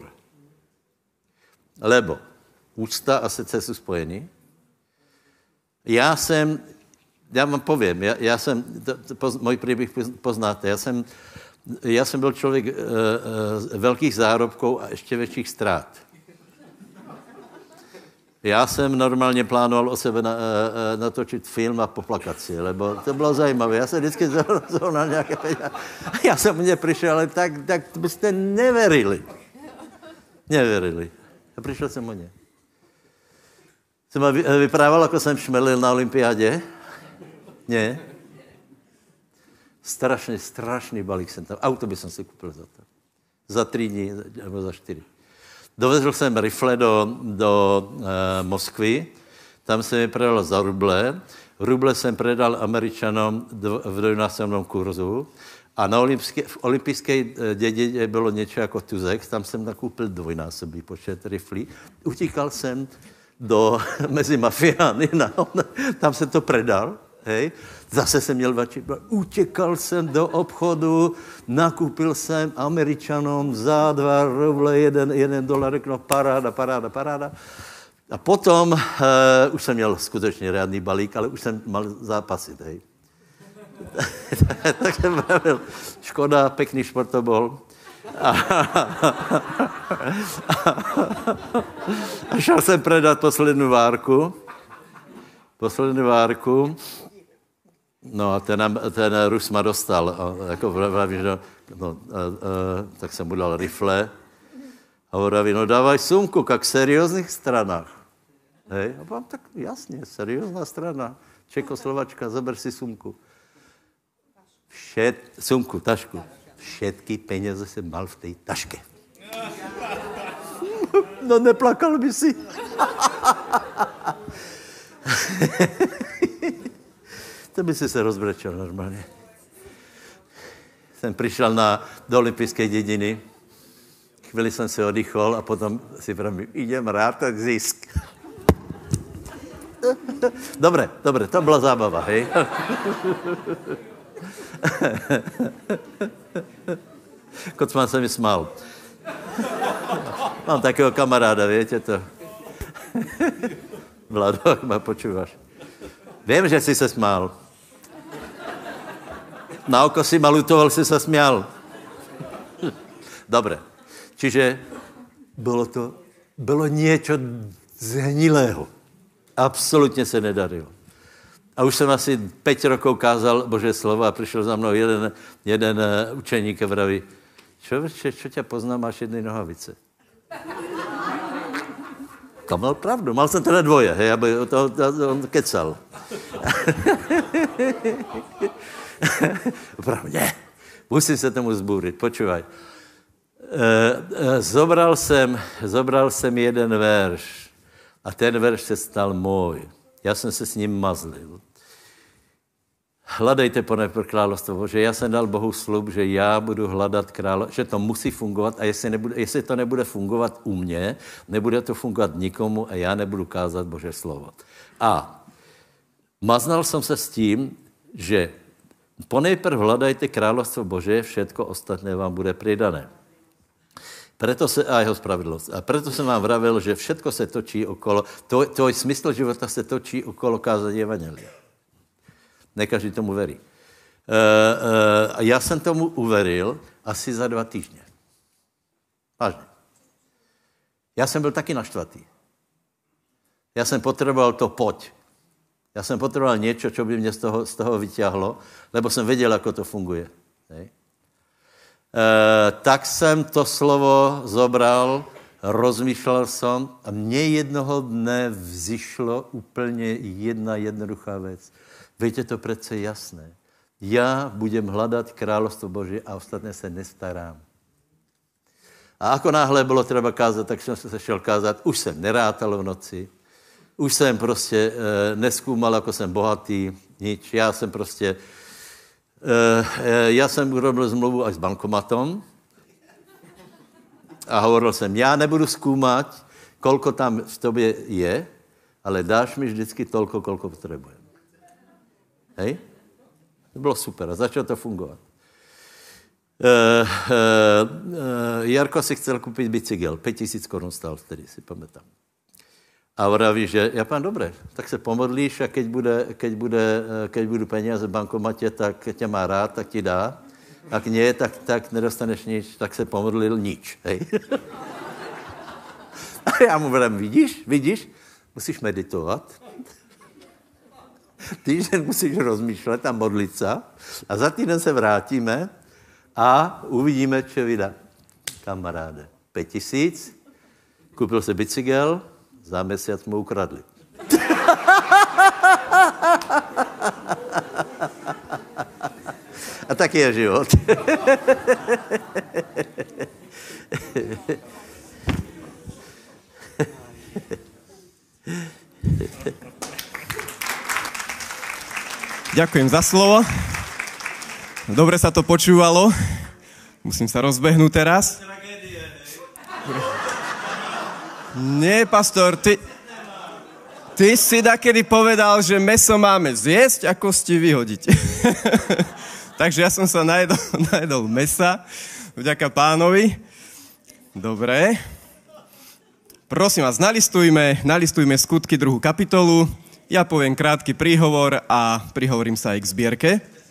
Lebo ústa a srdce jsou spojení. Já jsem... Já vám povím, já, já jsem... To, to, poz, můj příběh poznáte. Já jsem, já jsem byl člověk uh, uh, velkých zárobků a ještě větších ztrát. Já jsem normálně plánoval o sebe na, uh, natočit film a poplakat si, lebo to bylo zajímavé. Já jsem vždycky zohnal nějaké peníze. Já jsem mně přišel, ale tak, tak byste neverili. Neverili. A přišel jsem o ně. Jsem vyprával, jako jsem šmelil na olympiádě. Ne. Strašný, strašný balík jsem tam. Auto by jsem si koupil za to. Za tři dní, nebo za čtyři. Dovezl jsem rifle do, do e, Moskvy, tam jsem je predal za ruble, ruble jsem predal Američanom dv, v dvojnásobnom kurzu a na olympijské, v olympijské dědině bylo něco jako tuzek, tam jsem nakoupil dvojnásobný počet riflí, utíkal jsem do, mezi mafiány, na, tam jsem to predal, hej, zase jsem měl vači, utěkal jsem do obchodu, nakoupil jsem Američanom za dva ruble, jeden, jeden dolar, no paráda, paráda, paráda. A potom uh, už jsem měl skutečně reádný balík, ale už jsem mal zápasit, hej. Tak jsem pravil, škoda, pekný šport to bol. A, a šel jsem predat poslední várku. Poslední várku. No a ten, ten Rus ma dostal. A jako vraví, že no, a, a, tak jsem mu dal rifle. A vraví, no dávaj sumku, jak v serióznych stranách. Hej? A vám tak jasně, seriózná strana. Čekoslovačka, zober si sumku. Všet, sumku, tašku. Všetky peněze jsem mal v té taške. No neplakal by si. To by si se rozbrečel normálně. Jsem přišel na, do olympijské dědiny, chvíli jsem se oddychol a potom si pravím, idem rátat zisk. Dobre, dobre, to byla zábava, hej? Kocman se mi smál. Mám takého kamaráda, viete to? Vlado, ak ma počúvaš. Viem, že si se smál. Na oko si ma lutoval, si sa smial. Dobre. Čiže bylo to, bylo niečo zhnilého. Absolutně se nedarilo. A už jsem asi päť rokov kázal Božie slovo a přišel za mnou jeden, jeden učeník a vraví, člověče, čo tě poznám, máš jedny nohavice. To mal pravdu, mal jsem teda dvoje, hej, aby to, to, to on kecal. Pravdě, musím se tomu zbúrit, počúvaj. E, e, zobral jsem, zobral jsem jeden verš a ten verš se stal můj. Já jsem se s ním mazlil. Hledejte ponejprv královstvo Bože. Já jsem dal Bohu slub, že já budu hledat královstvo, že to musí fungovat a jestli, nebude, jestli to nebude fungovat u mě, nebude to fungovat nikomu a já nebudu kázat Bože slovo. A maznal jsem se s tím, že ponejprv hledajte královstvo Bože, všetko ostatné vám bude pridané. Preto se, a jeho spravedlnost. A proto jsem vám vravil, že všetko se točí okolo, tvoj, tvoj smysl života se točí okolo kázání evangelia. Ne každý tomu verí. E, e, a já jsem tomu uveril asi za dva týždně. Vážně. Já jsem byl taky naštvatý. Já jsem potřeboval to pojď. Já jsem potřeboval něco, co by mě z toho, z toho vyťahlo, lebo jsem věděl, jak to funguje. Hej. E, tak jsem to slovo zobral, rozmýšlel jsem a mně jednoho dne vzýšlo úplně jedna jednoduchá věc. Víte, to přece jasné. Já budem hledat královstvo Boží a ostatné se nestarám. A ako náhle bylo třeba kázat, tak jsem se šel kázat. Už jsem nerátal v noci. Už jsem prostě e, neskúmal, jako jsem bohatý. Nič. Já jsem prostě... E, já jsem urobil zmluvu až s bankomatom. A hovoril jsem, já nebudu zkoumat, kolko tam v tobě je, ale dáš mi vždycky tolko, kolko potřebujem. Hej? To bylo super a začalo to fungovat. E, e, e, Jarko si chcel koupit bicykl, pět tisíc korun stál vtedy, si pamätám. A vraví, že ja pán, dobré, tak se pomodlíš a keď, bude, keď, bude, keď budú peniaze v bankomatě, tak tě má rád, tak ti dá. Ak nie, tak, tak nedostaneš nič, tak se pomodlil nič. Hej? A já mu vravím, vidíš, vidíš, musíš meditovat. Týždeň musíš rozmýšlet a modlit se a za týden se vrátíme a uvidíme, čo vydá. Kamaráde, pět tisíc, koupil se bicykl, za měsíc mu ukradli. A tak je život. Ďakujem za slovo. Dobre sa to počúvalo. Musím sa rozbehnúť teraz. Nie, pastor, ty, ty si dakedy povedal, že mäso máme zjesť a kosti vyhodiť. Takže ja som sa najedol, najedol mäsa, vďaka pánovi. Dobre. Prosím vás, nalistujme, nalistujme Skutky druhú kapitolu. Ja poviem krátky príhovor a prihovorím sa aj k zbierke.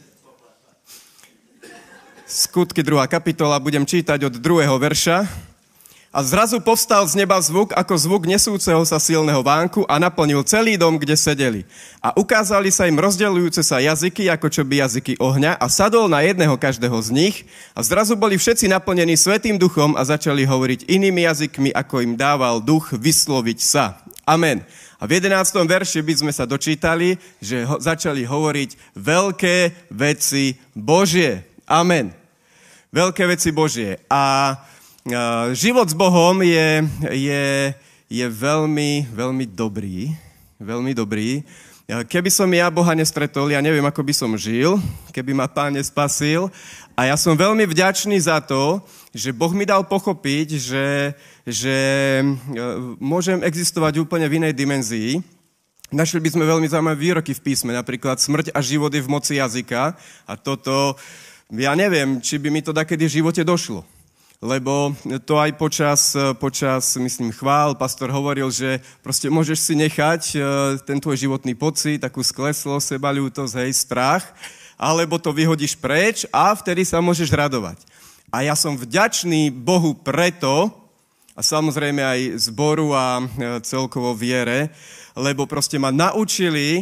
Skutky druhá kapitola, budem čítať od druhého verša. A zrazu povstal z neba zvuk, ako zvuk nesúceho sa silného vánku a naplnil celý dom, kde sedeli. A ukázali sa im rozdeľujúce sa jazyky, ako čo by jazyky ohňa, a sadol na jedného každého z nich. A zrazu boli všetci naplnení Svätým duchom a začali hovoriť inými jazykmi, ako im dával duch vysloviť sa. Amen. A v jedenástom verši by sme sa dočítali, že ho, začali hovoriť veľké veci Božie. Amen. Veľké veci Božie. A Uh, život s Bohom je, je, je veľmi, veľmi dobrý. Veľmi dobrý. Keby som ja Boha nestretol, ja neviem, ako by som žil, keby ma Pán nespasil. A ja som veľmi vďačný za to, že Boh mi dal pochopiť, že, že môžem existovať úplne v inej dimenzii. Našli by sme veľmi zaujímavé výroky v písme, napríklad smrť a život je v moci jazyka. A toto, ja neviem, či by mi to dakedy v živote došlo. Lebo to aj počas, počas, myslím, chvál, pastor hovoril, že proste môžeš si nechať ten tvoj životný pocit, takú skleslosť, sebaľútosť, hej, strach, alebo to vyhodíš preč a vtedy sa môžeš radovať. A ja som vďačný Bohu preto, a samozrejme aj zboru a celkovo viere, lebo proste ma naučili,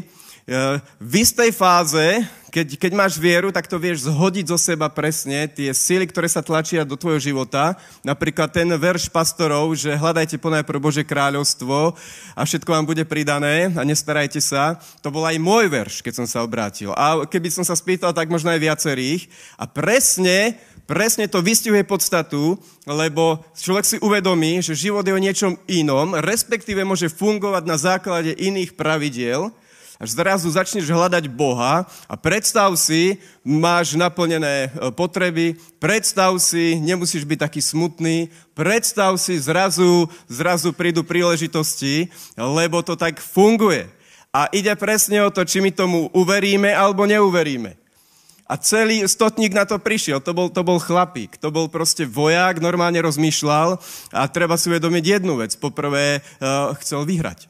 v istej fáze, keď, keď máš vieru, tak to vieš zhodiť zo seba presne, tie sily, ktoré sa tlačia do tvojho života. Napríklad ten verš pastorov, že hľadajte ponajprv Božie kráľovstvo a všetko vám bude pridané a nestarajte sa. To bol aj môj verš, keď som sa obrátil. A keby som sa spýtal, tak možno aj viacerých. A presne, presne to vystihuje podstatu, lebo človek si uvedomí, že život je o niečom inom, respektíve môže fungovať na základe iných pravidiel. Až zrazu začneš hľadať Boha a predstav si, máš naplnené potreby, predstav si, nemusíš byť taký smutný, predstav si, zrazu, zrazu prídu príležitosti, lebo to tak funguje. A ide presne o to, či my tomu uveríme alebo neuveríme. A celý stotník na to prišiel, to bol, to bol chlapík, to bol proste vojak, normálne rozmýšľal a treba si uvedomiť jednu vec. Poprvé uh, chcel vyhrať.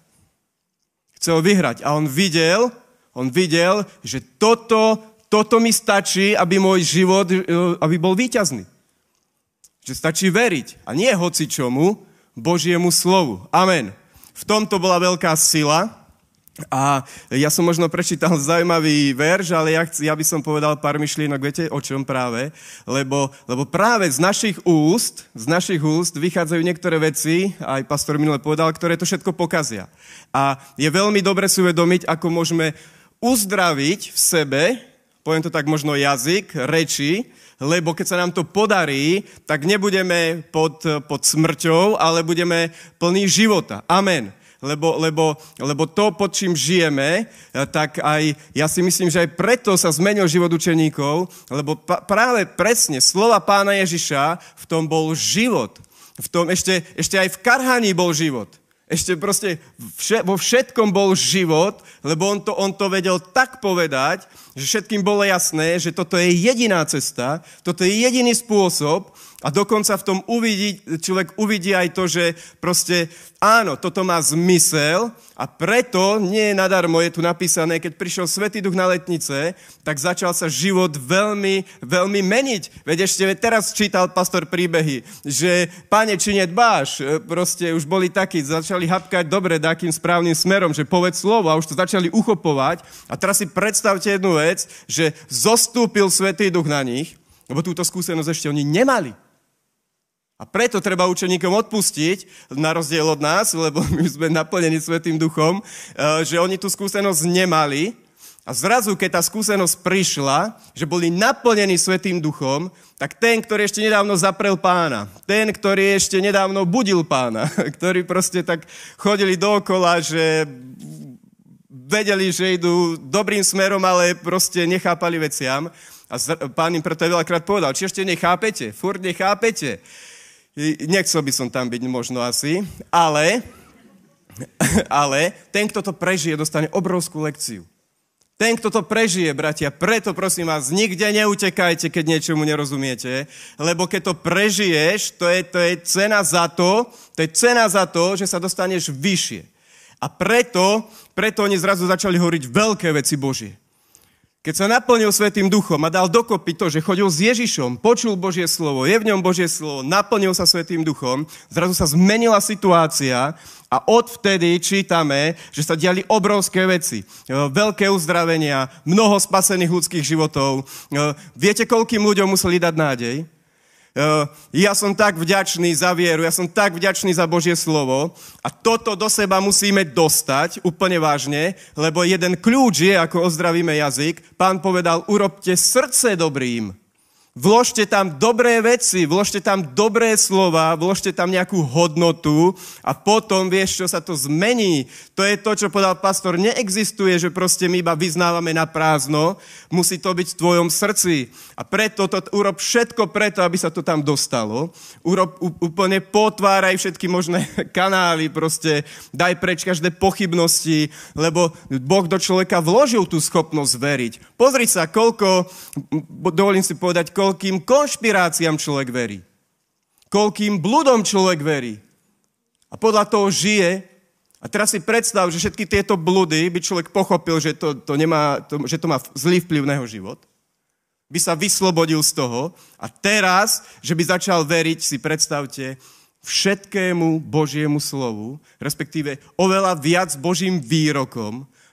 Chcel vyhrať a on videl, on videl, že toto, toto mi stačí, aby môj život, aby bol víťazný. Že stačí veriť a nie hocičomu, Božiemu slovu. Amen. V tomto bola veľká sila a ja som možno prečítal zaujímavý verš, ale ja, ja by som povedal pár myšlienok, viete o čom práve? Lebo, lebo práve z našich úst, z našich úst vychádzajú niektoré veci, aj pastor minule povedal, ktoré to všetko pokazia. A je veľmi dobre si uvedomiť, ako môžeme uzdraviť v sebe, poviem to tak možno jazyk, reči, lebo keď sa nám to podarí, tak nebudeme pod, pod smrťou, ale budeme plní života. Amen. Lebo, lebo, lebo to, pod čím žijeme, tak aj, ja si myslím, že aj preto sa zmenil život učeníkov, lebo pa, práve presne slova Pána Ježiša, v tom bol život. V tom ešte, ešte aj v karhaní bol život. Ešte proste vše, vo všetkom bol život, lebo on to, on to vedel tak povedať, že všetkým bolo jasné, že toto je jediná cesta, toto je jediný spôsob a dokonca v tom uvidí, človek uvidí aj to, že proste áno, toto má zmysel a preto nie je nadarmo, je tu napísané, keď prišiel Svätý Duch na Letnice, tak začal sa život veľmi, veľmi meniť. Veď ešte teraz čítal pastor príbehy, že Pane, či nedbáš, proste už boli takí, začali hapkať dobre, takým správnym smerom, že povedz slovo a už to začali uchopovať. A teraz si predstavte jednu vec, že zostúpil Svätý Duch na nich, lebo túto skúsenosť ešte oni nemali. A preto treba učeníkom odpustiť, na rozdiel od nás, lebo my sme naplnení Svätým Duchom, že oni tú skúsenosť nemali. A zrazu, keď tá skúsenosť prišla, že boli naplnení Svätým Duchom, tak ten, ktorý ešte nedávno zaprel Pána, ten, ktorý ešte nedávno budil Pána, ktorí proste tak chodili dookola, že vedeli, že idú dobrým smerom, ale proste nechápali veciam. A Pán im preto veľakrát povedal, či ešte nechápete, furt nechápete. Nechcel by som tam byť možno asi, ale, ale ten, kto to prežije, dostane obrovskú lekciu. Ten, kto to prežije, bratia, preto prosím vás, nikde neutekajte, keď niečomu nerozumiete, lebo keď to prežiješ, to je, to je cena za to, to je cena za to, že sa dostaneš vyššie. A preto, preto oni zrazu začali hovoriť veľké veci Božie. Keď sa naplnil Svätým Duchom a dal dokopy to, že chodil s Ježišom, počul Božie slovo, je v ňom Božie slovo, naplnil sa Svätým Duchom, zrazu sa zmenila situácia a odvtedy čítame, že sa diali obrovské veci. Veľké uzdravenia, mnoho spasených ľudských životov. Viete, koľkým ľuďom museli dať nádej? Ja som tak vďačný za vieru, ja som tak vďačný za Božie slovo a toto do seba musíme dostať úplne vážne, lebo jeden kľúč je, ako ozdravíme jazyk. Pán povedal, urobte srdce dobrým. Vložte tam dobré veci, vložte tam dobré slova, vložte tam nejakú hodnotu a potom vieš, čo sa to zmení. To je to, čo povedal pastor. Neexistuje, že proste my iba vyznávame na prázdno. Musí to byť v tvojom srdci. A preto to, urob všetko preto, aby sa to tam dostalo. Urob, úplne potváraj všetky možné kanály, proste daj preč každé pochybnosti, lebo Boh do človeka vložil tú schopnosť veriť. Pozri sa, koľko, dovolím si povedať, koľkým konšpiráciám človek verí. Koľkým bludom človek verí. A podľa toho žije. A teraz si predstav, že všetky tieto bludy by človek pochopil, že to, to, nemá, to, že to má zlý vplyv na jeho život. By sa vyslobodil z toho. A teraz, že by začal veriť, si predstavte, všetkému Božiemu slovu, respektíve oveľa viac Božím výrokom,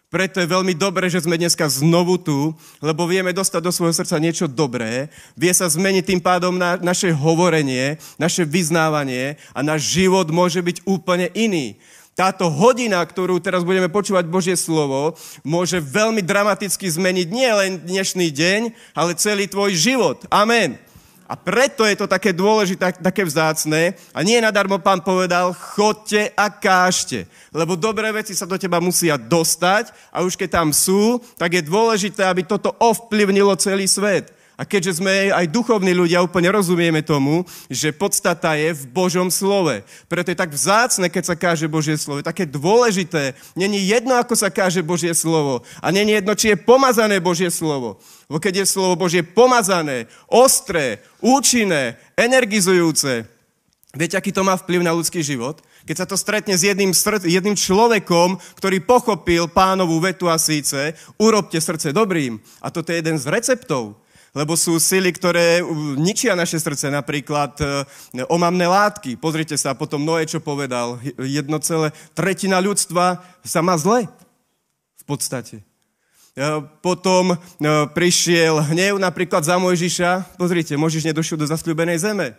Preto je veľmi dobré, že sme dneska znovu tu, lebo vieme dostať do svojho srdca niečo dobré, vie sa zmeniť tým pádom na naše hovorenie, naše vyznávanie a náš život môže byť úplne iný. Táto hodina, ktorú teraz budeme počúvať Božie slovo, môže veľmi dramaticky zmeniť nie len dnešný deň, ale celý tvoj život. Amen. A preto je to také dôležité, také vzácne. A nie nadarmo Pán povedal, chodte a kážte. Lebo dobré veci sa do teba musia dostať a už keď tam sú, tak je dôležité, aby toto ovplyvnilo celý svet. A keďže sme aj duchovní ľudia, úplne rozumieme tomu, že podstata je v Božom slove. Preto je tak vzácne, keď sa káže Božie slovo. Je také dôležité. Není jedno, ako sa káže Božie slovo. A není jedno, či je pomazané Božie slovo. Lebo keď je slovo Božie pomazané, ostré, účinné, energizujúce, viete, aký to má vplyv na ľudský život? Keď sa to stretne s jedným, srd- jedným človekom, ktorý pochopil Pánovú vetu a síce, urobte srdce dobrým. A toto je jeden z receptov. Lebo sú sily, ktoré ničia naše srdce, napríklad e, omamné látky. Pozrite sa, potom Noé, čo povedal, jedno celé tretina ľudstva sa má zle. V podstate. E, potom e, prišiel hnev napríklad za Mojžiša. Pozrite, Mojžiš nedošiel do zasľúbenej zeme.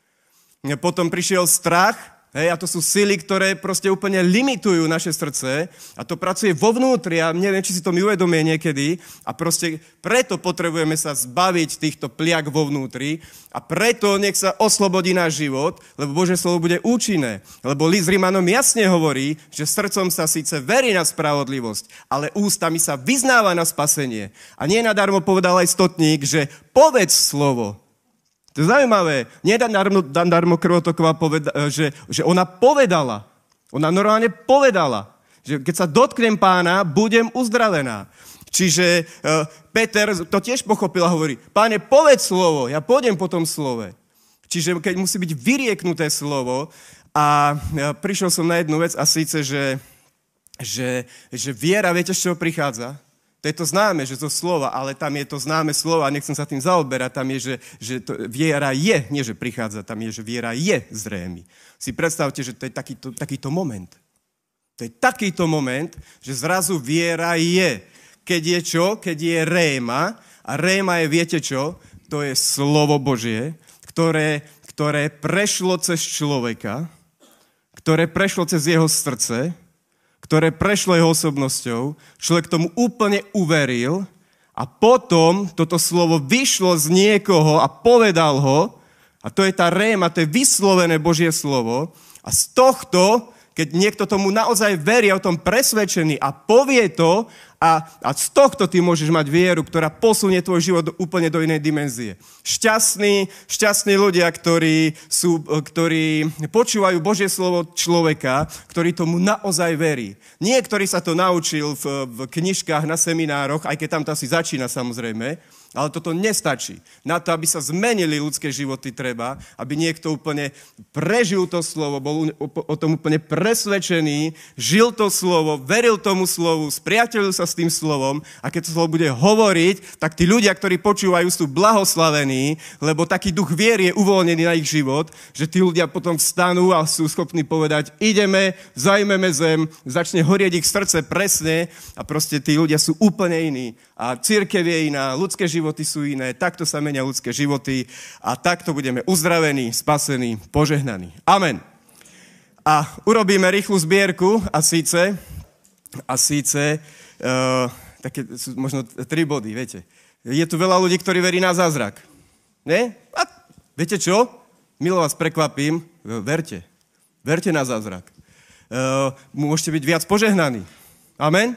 E, potom prišiel strach. Hej, a to sú sily, ktoré proste úplne limitujú naše srdce a to pracuje vo vnútri a neviem, či si to my uvedomie niekedy a proste preto potrebujeme sa zbaviť týchto pliak vo vnútri a preto nech sa oslobodí náš život, lebo Božie slovo bude účinné. Lebo list Rimanom jasne hovorí, že srdcom sa síce verí na spravodlivosť, ale ústami sa vyznáva na spasenie. A nie nadarmo povedal aj stotník, že povedz slovo. To je zaujímavé. Nie nadarmo krvotoková, poveda, že, že ona povedala. Ona normálne povedala, že keď sa dotknem Pána, budem uzdravená. Čiže uh, Peter to tiež pochopil a hovorí, Páne, povedz slovo, ja pôjdem po tom slove. Čiže keď musí byť vyrieknuté slovo a uh, prišiel som na jednu vec a síce, že, že, že viera, viete, z čoho prichádza? To je to známe, že to slova, ale tam je to známe slovo a nechcem sa tým zaoberať. Tam je, že, že to, viera je, nie že prichádza, tam je, že viera je zrejmy. Si predstavte, že to je takýto, takýto moment. To je takýto moment, že zrazu viera je. Keď je čo? Keď je réma. A réma je, viete čo? To je slovo Božie, ktoré, ktoré prešlo cez človeka, ktoré prešlo cez jeho srdce, ktoré prešlo jeho osobnosťou, človek tomu úplne uveril a potom toto slovo vyšlo z niekoho a povedal ho, a to je tá réma, to je vyslovené Božie slovo, a z tohto, keď niekto tomu naozaj verí, o tom presvedčený a povie to, a, a z tohto ty môžeš mať vieru, ktorá posunie tvoj život úplne do inej dimenzie. Šťastní, šťastní ľudia, ktorí, sú, ktorí počúvajú Božie slovo človeka, ktorý tomu naozaj verí. Nie, ktorý sa to naučil v, v knižkách, na seminároch, aj keď tam to asi začína samozrejme, ale toto nestačí. Na to, aby sa zmenili ľudské životy, treba, aby niekto úplne prežil to slovo, bol o tom úplne presvedčený, žil to slovo, veril tomu slovu, spriateľil sa s tým slovom a keď to slovo bude hovoriť, tak tí ľudia, ktorí počúvajú, sú blahoslavení, lebo taký duch viery je uvoľnený na ich život, že tí ľudia potom vstanú a sú schopní povedať, ideme, zajmeme zem, začne horieť ich srdce presne a proste tí ľudia sú úplne iní. A cirkev je iná, ľudské životy sú iné, takto sa menia ľudské životy a takto budeme uzdravení, spasení, požehnaní. Amen. A urobíme rýchlu zbierku a síce, a síce, uh, také sú možno tri body, viete. Je tu veľa ľudí, ktorí verí na zázrak. Nie? A viete čo? Milo vás prekvapím, verte. Verte na zázrak. Uh, môžete byť viac požehnaní. Amen.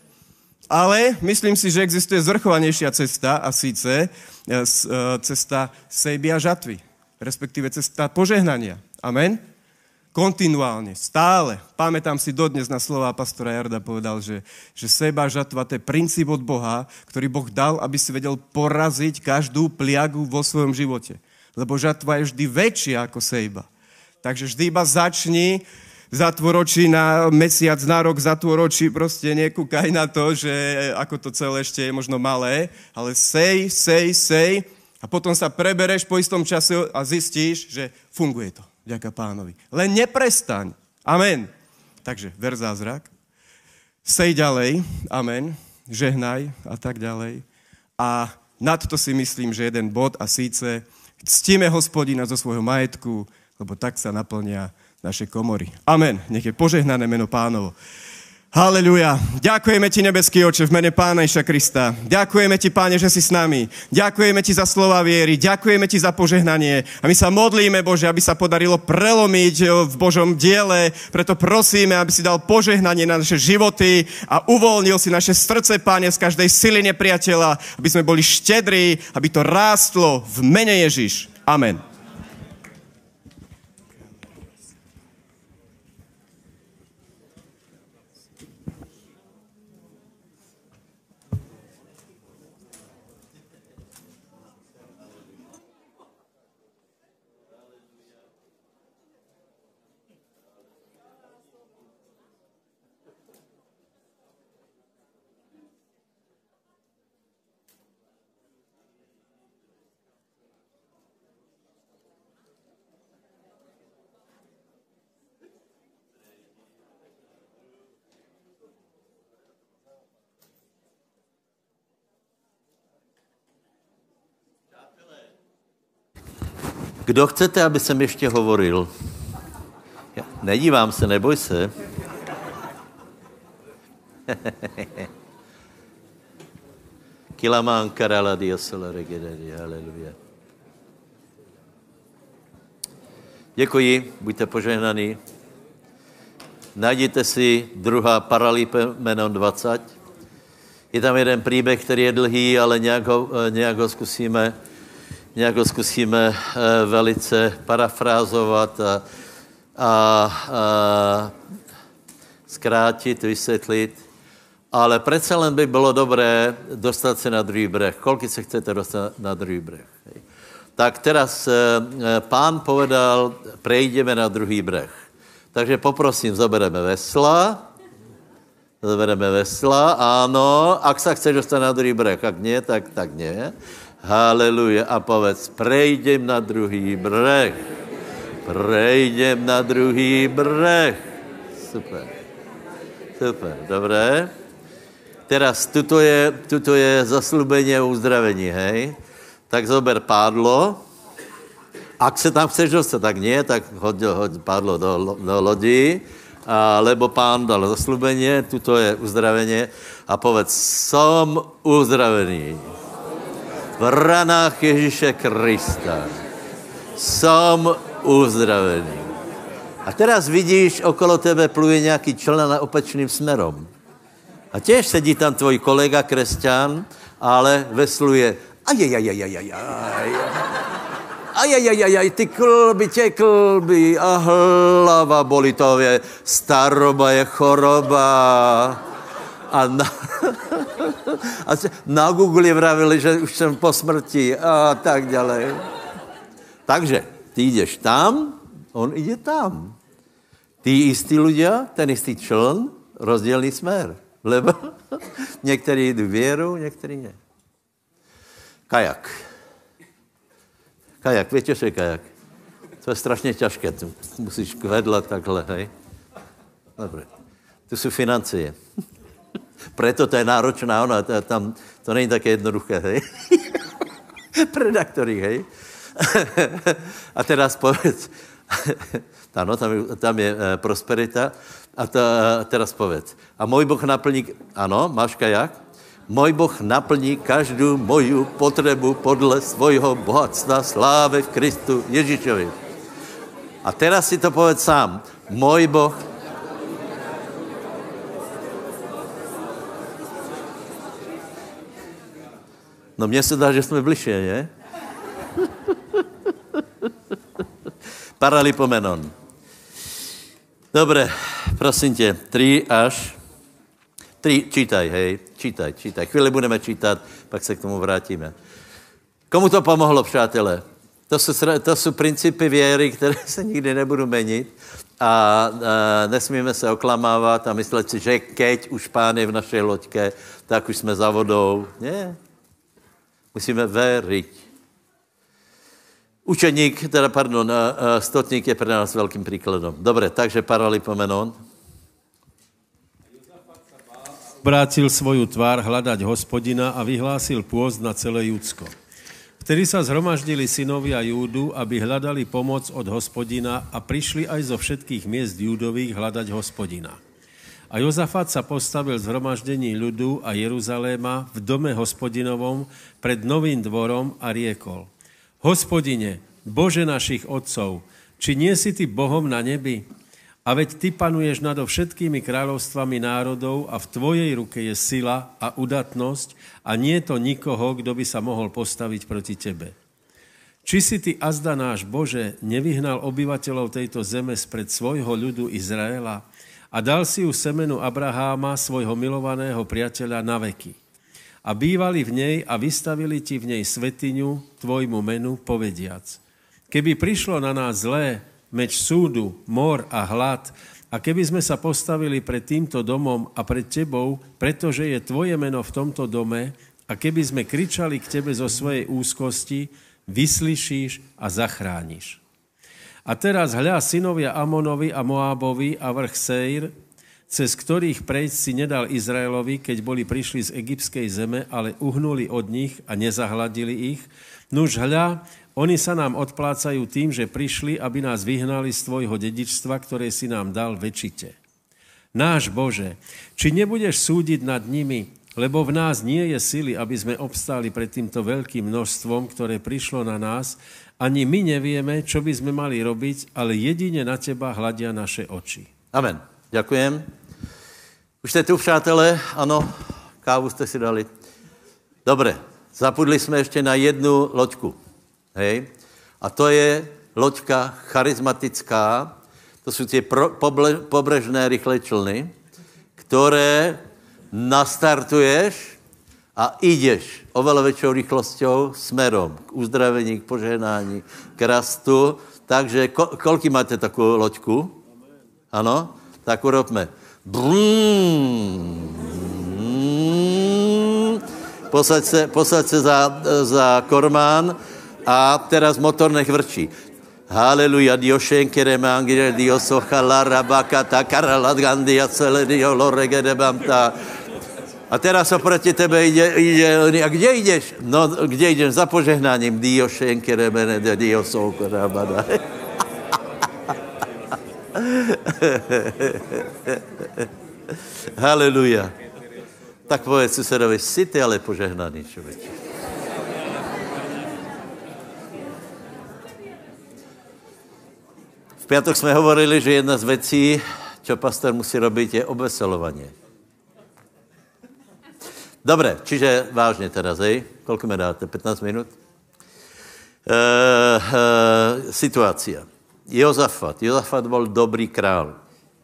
Ale myslím si, že existuje zvrchovanejšia cesta a síce cesta sejby a žatvy, respektíve cesta požehnania. Amen? Kontinuálne, stále. Pamätám si dodnes na slova pastora Jarda, povedal, že, že sejba a žatva to je princíp od Boha, ktorý Boh dal, aby si vedel poraziť každú pliagu vo svojom živote. Lebo žatva je vždy väčšia ako sejba. Takže vždy iba začni zatvoročí na mesiac, na rok zatvoročí, proste nekúkaj na to, že ako to celé ešte je možno malé, ale sej, sej, sej a potom sa prebereš po istom čase a zistíš, že funguje to, vďaka Pánovi. Len neprestaň. Amen. Takže ver zázrak. sej ďalej, amen, žehnaj a tak ďalej. A nad to si myslím, že jeden bod a síce ctíme Hospodina zo svojho majetku, lebo tak sa naplnia naše komory. Amen. Nech je požehnané meno Pánovo. Haleluja. Ďakujeme ti, nebeský Oče, v mene Pána Ježiša Krista. Ďakujeme ti, Páne, že si s nami. Ďakujeme ti za slova viery. Ďakujeme ti za požehnanie. A my sa modlíme, Bože, aby sa podarilo prelomiť v Božom diele. Preto prosíme, aby si dal požehnanie na naše životy a uvoľnil si naše srdce, Páne, z každej sily nepriateľa, aby sme boli štedrí, aby to rástlo v mene Ježiš. Amen. Kdo chcete, aby jsem ještě hovoril? Ja, nedívám se, neboj se. Kilamán karala diasola regederi, haleluja. Děkuji, buďte požehnaní. Najděte si druhá Paralipomenon dvacet. Je tam jeden příběh, který je dlhý, ale nějak ho, nějak ho zkusíme nějak ho zkusíme e, velice parafrázovat a, a, a zkrátit, vysvětlit. Ale přece len by bylo dobré dostat se na druhý breh. Kolik se chcete dostat na druhý breh? Hej. Tak teraz e, pán povedal, prejdeme na druhý breh. Takže poprosím, zobereme vesla. Zobereme vesla, áno. Ak sa chceš dostať na druhý breh, ak nie, tak, tak nie. Haleluja. A povedz, prejdem na druhý breh. Prejdem na druhý breh. Super. Super, dobré. Teraz, tuto je, tuto je zaslúbenie o uzdravení, hej? Tak zober pádlo. Ak sa tam chceš dostať, tak nie, tak hoď, hoď pádlo do, do lodi, a, lebo pán dal zaslúbenie, tuto je uzdravenie. A povedz, som uzdravený. V ranách Ježíše Krista som uzdravený. A teraz vidíš, okolo tebe pluje nejaký člen opačným smerom. A tiež sedí tam tvoj kolega, kresťan, ale vesluje ajajajajajajaj. Ajajajajaj, ty klby, tie klby a hlava boli, to je staroba, je choroba. A na, a na Google vravili, že už jsem po smrti a tak ďalej. Takže ty ideš tam, on ide tam. Tí istí ľudia, ten istý čln, rozdielný smer. Lebo niektorí idú vierou, niektorí nie. Kajak. Kajak, viete, čo je kajak? To je strašne ťažké. Tu musíš vedľa takhle, hej. Dobre. Tu sú financie. Preto to je náročná, ona, to, tam, to není také jednoduché, hej. Predaktorí, hej. A teraz povedz, ano, tam, je, tam je e, prosperita, a to, e, teraz povedz, a môj Boh naplní, ano, máš kajak? Môj Boh naplní každú moju potrebu podle svojho bohatstva sláve v Kristu Ježišovi. A teraz si to povedz sám, môj Boh No mně se dá, že jsme bližšie, ne? Paralipomenon. Dobre, prosím tě, tři až... Tři, čítaj, hej, čítaj, čítaj. Chvíli budeme čítat, pak se k tomu vrátíme. Komu to pomohlo, přátelé? To jsou, to jsou principy věry, které se nikdy nebudou menit a, a nesmíme se oklamávat a myslet si, že keď už Pán je v našej loďke, tak už jsme za vodou. Nie. Musíme veriť. Učeník, teda pardon, stotník je pre nás veľkým príkladom. Dobre, takže Paralipomenon. obrátil svoju tvár hľadať Hospodina a vyhlásil pôst na celé Judsko. Vtedy sa zhromaždili synovia Júdu, aby hľadali pomoc od Hospodina a prišli aj zo všetkých miest Júdových hľadať Hospodina. A Jozafat sa postavil v zhromaždení ľudu a Jeruzaléma v dome Hospodinovom pred novým dvorom a riekol: Hospodine, Bože našich otcov, či nie si ty Bohom na nebi? A veď ty panuješ nado všetkými kráľovstvami národov a v tvojej ruke je sila a udatnosť a nie je to nikoho, kto by sa mohol postaviť proti tebe. Či si ty azda náš Bože nevyhnal obyvateľov tejto zeme spred svojho ľudu Izraela a dal si ju semenu Abraháma, svojho milovaného priateľa, na veky. A bývali v nej a vystavili ti v nej svetiňu tvojmu menu, povediac: Keby prišlo na nás zlé, meč súdu, mor a hlad, a keby sme sa postavili pred týmto domom a pred tebou, pretože je tvoje meno v tomto dome, a keby sme kričali k tebe zo svojej úzkosti, vyslyšíš a zachrániš. A teraz hľa, synovia Amonovi a Moábovi a vrch Seir, cez ktorých prejsť si nedal Izraelovi, keď boli prišli z egyptskej zeme, ale uhnuli od nich a nezahladili ich. Nuž hľa, oni sa nám odplácajú tým, že prišli, aby nás vyhnali z tvojho dedičstva, ktoré si nám dal väčšite. Náš Bože, či nebudeš súdiť nad nimi, lebo v nás nie je sily, aby sme obstáli pred týmto veľkým množstvom, ktoré prišlo na nás, ani my nevieme, čo by sme mali robiť, ale jedine na teba hľadia naše oči. Amen. Ďakujem. Už ste tu, přátelé? Ano, kávu ste si dali. Dobre, zapudli sme ešte na jednu loďku. Hej? A to je loďka charizmatická. To sú tie pro, poble, pobrežné rýchle člny, ktoré nastartuješ a ideš oveľa väčšou rýchlosťou smerom k uzdravení, k požehnání, k rastu. Takže ko, koľký máte takú loďku? Ano? Tak urobme. Posaď se, posaď se za, za kormán a teraz motor nech vrčí. Haleluja, Dio šenkere mangire, Dio sochala, rabaka, ta karala, gandia, celé, Dio lorege, debamta. A teraz oproti tebe ide, ide, a kde ideš? No, kde ideš? Za požehnáním. Dio šenkere mene, Dio sochala, rabada. Haleluja. Tak povedz susedovi, si ty ale požehnaný človeče. V piatok sme hovorili, že jedna z vecí, čo pastor musí robiť, je obveselovanie. Dobre, čiže vážne teraz, hej? Koľko mi dáte? pätnásť minút? E, e, situácia. Jozafat. Jozafat bol dobrý král. E,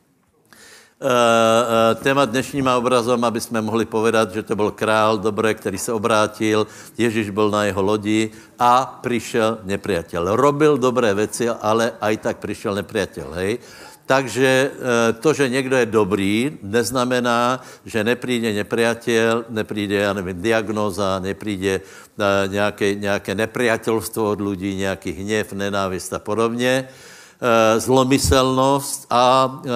e, téma dnešním obrazom, aby sme mohli povedať, že to bol král, dobre, ktorý sa obrátil, Ježiš bol na jeho lodi a prišiel nepriateľ. Robil dobré veci, ale aj tak prišiel nepriateľ, hej? Takže e, to, že niekto je dobrý, neznamená, že nepríde nepriateľ, nepríde, ja neviem, diagnóza, nepríde e, nejaké, nejaké nepriateľstvo od ľudí, nejaký hnev, nenávist a podobne, e, zlomyselnosť a e, e,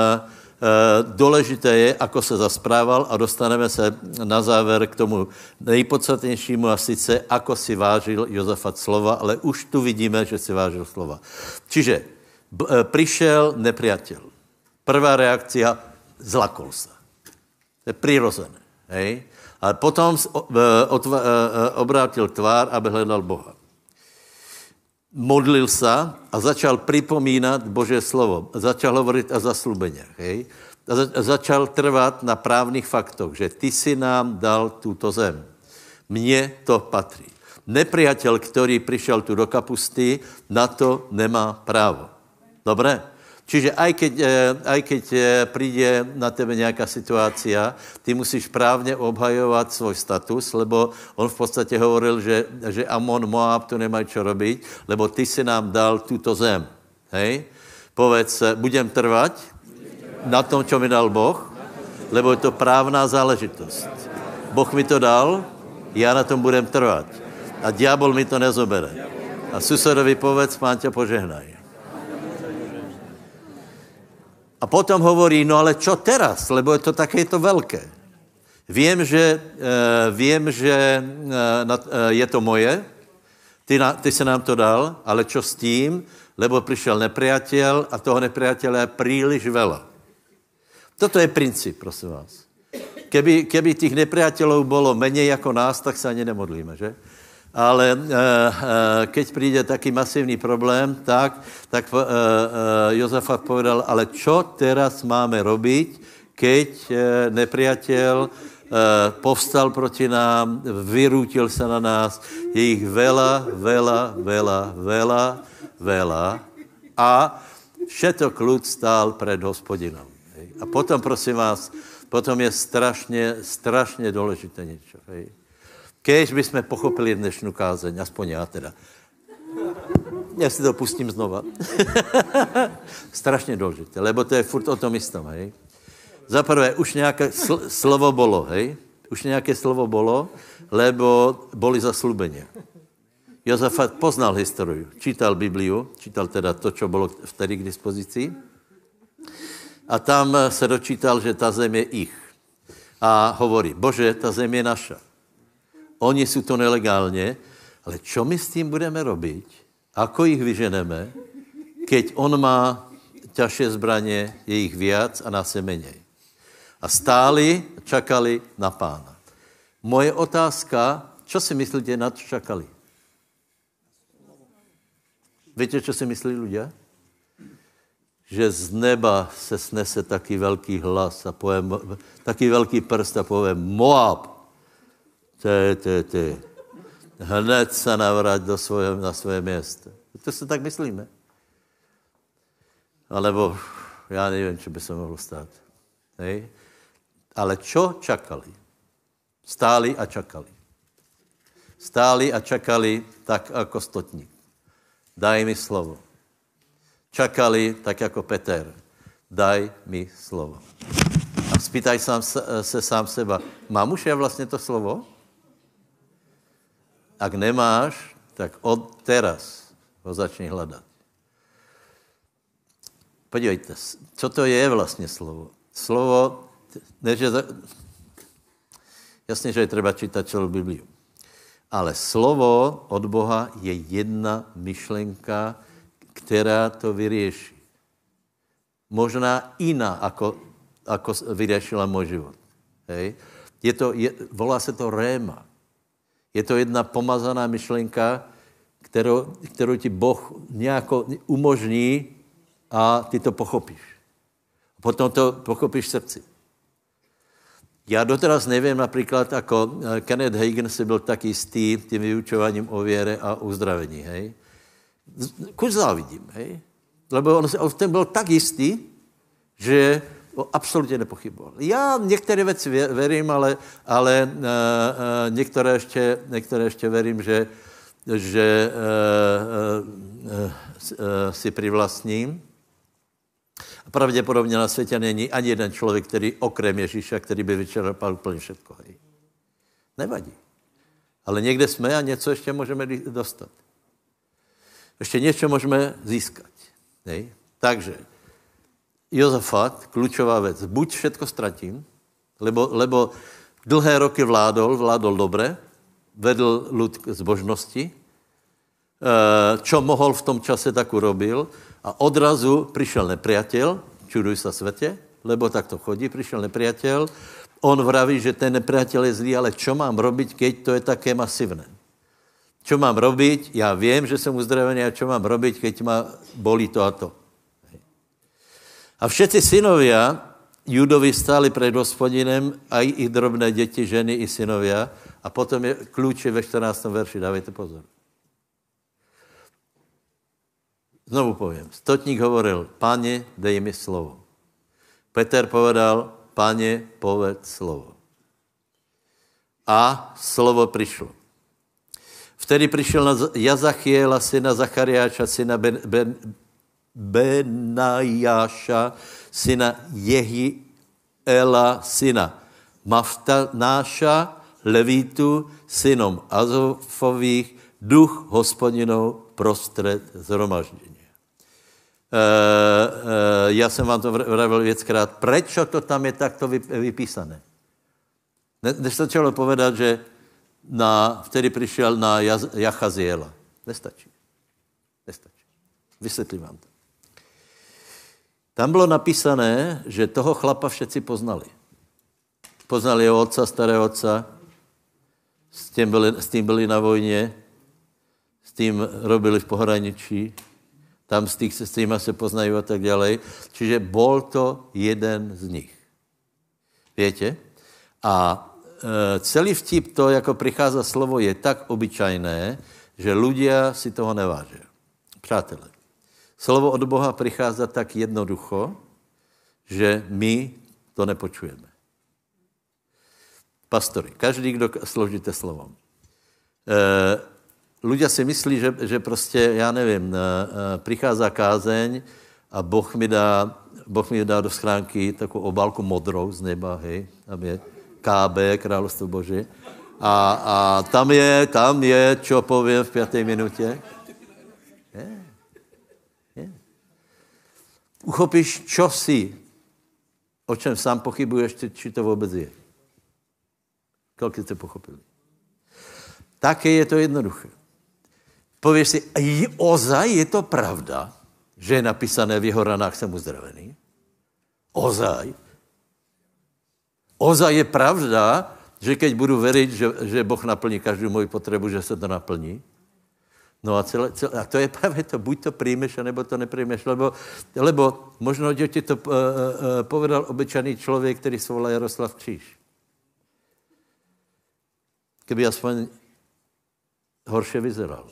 dôležité je, ako sa zasprával a dostaneme sa na záver k tomu nejpodstatnejšímu a sice, ako si vážil Jozafat slova, ale už tu vidíme, že si vážil slova. Čiže prišiel nepriateľ. Prvá reakcia, zlakol sa. To je prirozené. Hej? A potom obrátil tvár, aby hľadal Boha. Modlil sa a začal pripomínať Božie slovo. Začal hovoriť o zasľúbeniach. Hej? A začal trvať na právnych faktoch, že ty si nám dal túto zem. Mne to patrí. Nepriateľ, ktorý prišiel tu do kapusty, na to nemá právo. Dobre? Čiže aj keď, aj keď príde na tebe nejaká situácia, ty musíš právne obhajovať svoj status, lebo on v podstate hovoril, že, že Amon, Moab tu nemajú čo robiť, lebo ty si nám dal túto zem. Hej? Povedz, budem trvať na tom, čo mi dal Boh, lebo je to právna záležitosť. Boh mi to dal, ja na tom budem trvať. A diabol mi to nezobere. A susedovi povedz, Pán ťa požehnaj. A potom hovorí, no ale čo teraz? Lebo je to takéto veľké. Vím, že, vím, že je to moje, ty, na, ty se nám to dal, ale čo s tím, lebo prišiel nepriateľ a toho nepriateľa je príliš veľa. Toto je princíp, prosím vás. Keby, keby tých nepriateľov bolo menej ako nás, tak sa ani nemodlíme, že? Ale e, e, keď príde taký masívny problém, tak, tak e, e, Jozafat povedal, ale čo teraz máme robiť, keď e, nepriateľ e, povstal proti nám, vyrútil sa na nás, je ich veľa, veľa, veľa, veľa, veľa a všetok ľud stál pred Hospodinom. A potom, prosím vás, potom je strašne, strašne dôležité niečo. Hej. Keď by sme pochopili dnešnú kázeň, aspoň ja teda. Ja si to pustím znova. Strašne dôležité, lebo to je furt o tom istom, hej. Za prvé, už nejaké sl- slovo bolo, hej. Už nejaké slovo bolo, lebo boli zasľúbenia. Jozafat poznal históriu, čítal Bibliu, čítal teda to, čo bolo vtedy k dispozícii. A tam sa dočítal, že tá zem je ich. A hovorí, Bože, tá zem je naša. Oni sú to nelegálne, ale čo my s tým budeme robiť? Ako ich vyženeme, keď on má ťažšie zbranie, je ich viac a nás je menej. A stáli, čakali na Pána. Moje otázka, čo si myslíte, na čo čakali? Viete, čo si myslí ľudia? Že z neba se snese taký veľký hlas a povie, taký veľký prst a povie Moab. Ty, ty, ty. Hned sa navrať do svoje, na svoje miesto. To si tak myslíme. Alebo ja neviem, čo by sa mohlo stať. Hej? Ale čo čakali? Stáli a čakali. Stáli a čakali tak ako stotník. Daj mi slovo. Čakali tak ako Peter. Daj mi slovo. A spýtaj sám se sám seba, mám už ja vlastne to slovo? Ak nemáš, tak od teraz ho začni hľadať. Podívejte, čo to je vlastne slovo? Slovo, neže, jasne, že je treba čítať celú Bibliu. Ale slovo od Boha je jedna myšlenka, ktorá to vyrieši. Možná iná, ako, ako vyriešila môj život. Hej? Je to, je, volá sa to réma. Je to jedna pomazaná myšlenka, kterou, kterou ti Boh nejako umožní a ty to pochopíš. Potom to pochopíš v srdci. Já doteraz nevím například, ako Kenneth Hagin si byl tak jistý tím vyučováním o věre a uzdravení, hej. Kuž závidím, hej. Lebo on, on ten byl tak jistý, že absolutně nepochyboval. Já některé věci verím, ale, ale uh, uh, některé, ještě, některé ještě verím, že, že uh, uh, uh, si privlastním. Pravděpodobně na světě není ani jeden člověk, který okrem Ježíša, který by vyčerpal úplně všetko. Hej. Nevadí. Ale někde jsme a něco ještě můžeme dostat. Ještě něco můžeme získat. Hej. Takže Jozafat, kľúčová vec. Buď všetko stratím, lebo, lebo dlhé roky vládol, vládol dobre, vedl ľud k zbožnosti, čo mohol v tom čase, tak urobil a odrazu prišiel nepriateľ, čuduj sa svete, lebo tak to chodí, prišiel nepriateľ, on vraví, že ten nepriateľ je zlý, ale čo mám robiť, keď to je také masívne? Čo mám robiť? Ja viem, že som uzdravený, a čo mám robiť, keď ma bolí to a to? A všetci synovia Judovi stáli pred Hospodinem, aj ich drobné deti, ženy i synovia. A potom je kľúč ve štrnástom verši, dávajte pozor. Znovu poviem. Stotník hovoril, Pane, dej mi slovo. Peter povedal, Pane, povedz slovo. A slovo prišlo. Vtedy prišiel na Jazachiela, syna Zachariáša, syna Ben... ben Benajáša, syna Jehiela, syna Maftanáša, Levítu, synom Azofových, duch Hospodinov prostred zhromaždenia. E, e, ja som vám to vravil viackrát. Prečo to tam je takto vypísané? Nestačilo povedať, že na, vtedy prišiel na Jachaziela. Nestačí. Nestačí. Vysvětlím vám to. Tam bylo napísané, že toho chlapa všetci poznali. Poznali jeho otca, starého otca, s tím byli, s tím byli na vojně, s tím robili v pohraničí, tam s, tých, s týma se poznají a tak ďalej. Čiže bol to jeden z nich. Viete? A e, celý vtip to, jako prichádza slovo, je tak obyčajné, že ľudia si toho nevážia. Přátelé, slovo od Boha prichádza tak jednoducho, že my to nepočujeme. Pastori, každý, kdo složíte slovom. E, ľudia si myslí, že, že prostě, já nevím, e, prichází kázeň a Boh mi dá, Boh mi dá do schránky takovou obálku modrou z neba, hej, tam je K B, Královstvo Boží. A, a tam je, tam je, čo povím v páté minutě. Je, je. Uchopíš, čo si, o čem sám pochybuješ, či to vůbec je. Kolik jste pochopili? Také je to jednoduché. Pověš si, ozaj je to pravda, že je napísané v jeho ranách jsem uzdravený? Ozaj. Ozaj je pravda, že keď budu veriť, že, že Boh naplní každou moji potřebu, že se to naplní? No a, celé, celé, a to je právě to, buď to přijmeš, anebo to nepřijmeš, lebo, lebo možno, že ti to uh, uh, povedal obyčajný člověk, který se volá Jaroslav Kříž. Keby aspoň horšie vyzeral.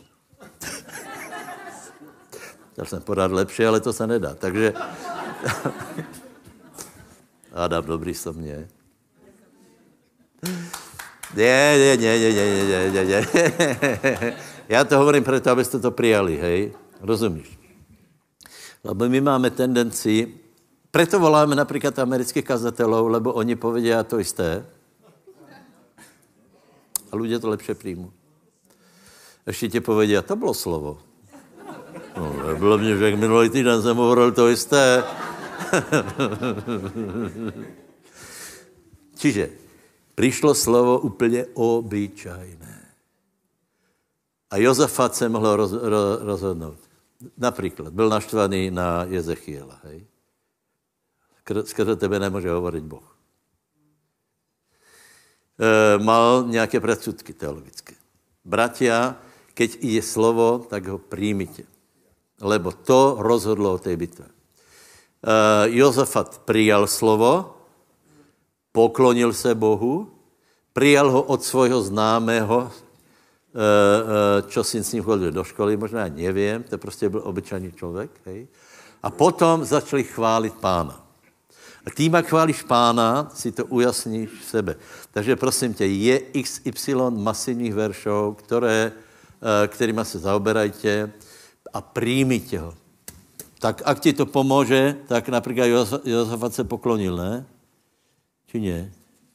Chtěl jsem podat lepší, ale to se nedá. Takže Adam, dobrý som mě. Nie, nie, nie, nie, nie, nie, nie, nie. Já to hovorím preto, abyste to prijali, hej? Rozumíš? Lebo my máme tendenci, preto voláme napríklad amerických kazatelů, lebo oni povedia to isté. A ľudia to lepšie príjmu. Ešte ti povedia, to bylo slovo. No, bylo mě, že minulý týden jsem hovoril to isté. Čiže prišlo slovo úplně obyčajné. A Jozafat se mohl roz, ro, rozhodnout. Například, byl naštvaný na Jezechiela, hej? Skrze tebe nemůže hovorit Boh. E, mal nějaké predsudky teologické. Bratia, keď je slovo, tak ho príjmite. Lebo to rozhodlo o tej bitve. E, Jozafat prijal slovo, poklonil se Bohu, prijal ho od svojho známého, čo si s ním chodil do školy, možná nevím, to prostě byl obyčajný člověk, hej. A potom začali chválit Pána. A tím, jak chválíš Pána, si to ujasníš v sebe. Takže prosím tě, je iks ypsilon masivních veršov, které, kterýma se zaoberajte a přijmite ho. Tak ak ti to pomůže, tak například Jozafat se poklonil, ne? Či nie?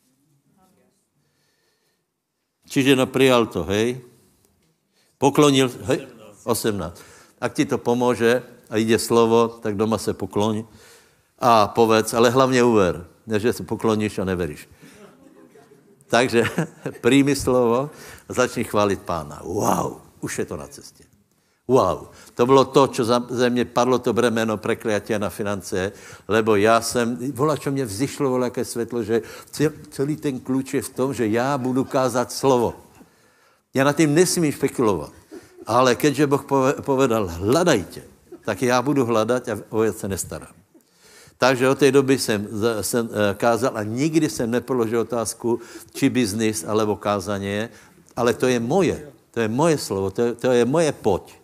Čiže no prijal to, hej? Poklonil, hej? osemnásť. Ak ti to pomůže a jde slovo, tak doma se pokloň a povedz, ale hlavně uver, ne, že se pokloníš a neveríš. Takže príjmi slovo a začni chválit Pána. Wow, už je to na cestě. Wow, to bylo to, čo ze mě padlo to bremeno prekliatia na finance, lebo já jsem, volá, čo mě vzýšlo, volá, jaké světlo, že celý ten kluč je v tom, že já budu kázat slovo. Já na tím nesmím špekulovat, ale keďže Boh povedal, hledajte, tak já budu hledat a o věc se nestarám. Takže od té doby jsem, jsem kázal a nikdy jsem nepoložil otázku, či biznis, alebo kázaně, ale to je moje, to je moje slovo, to je, to je moje poď.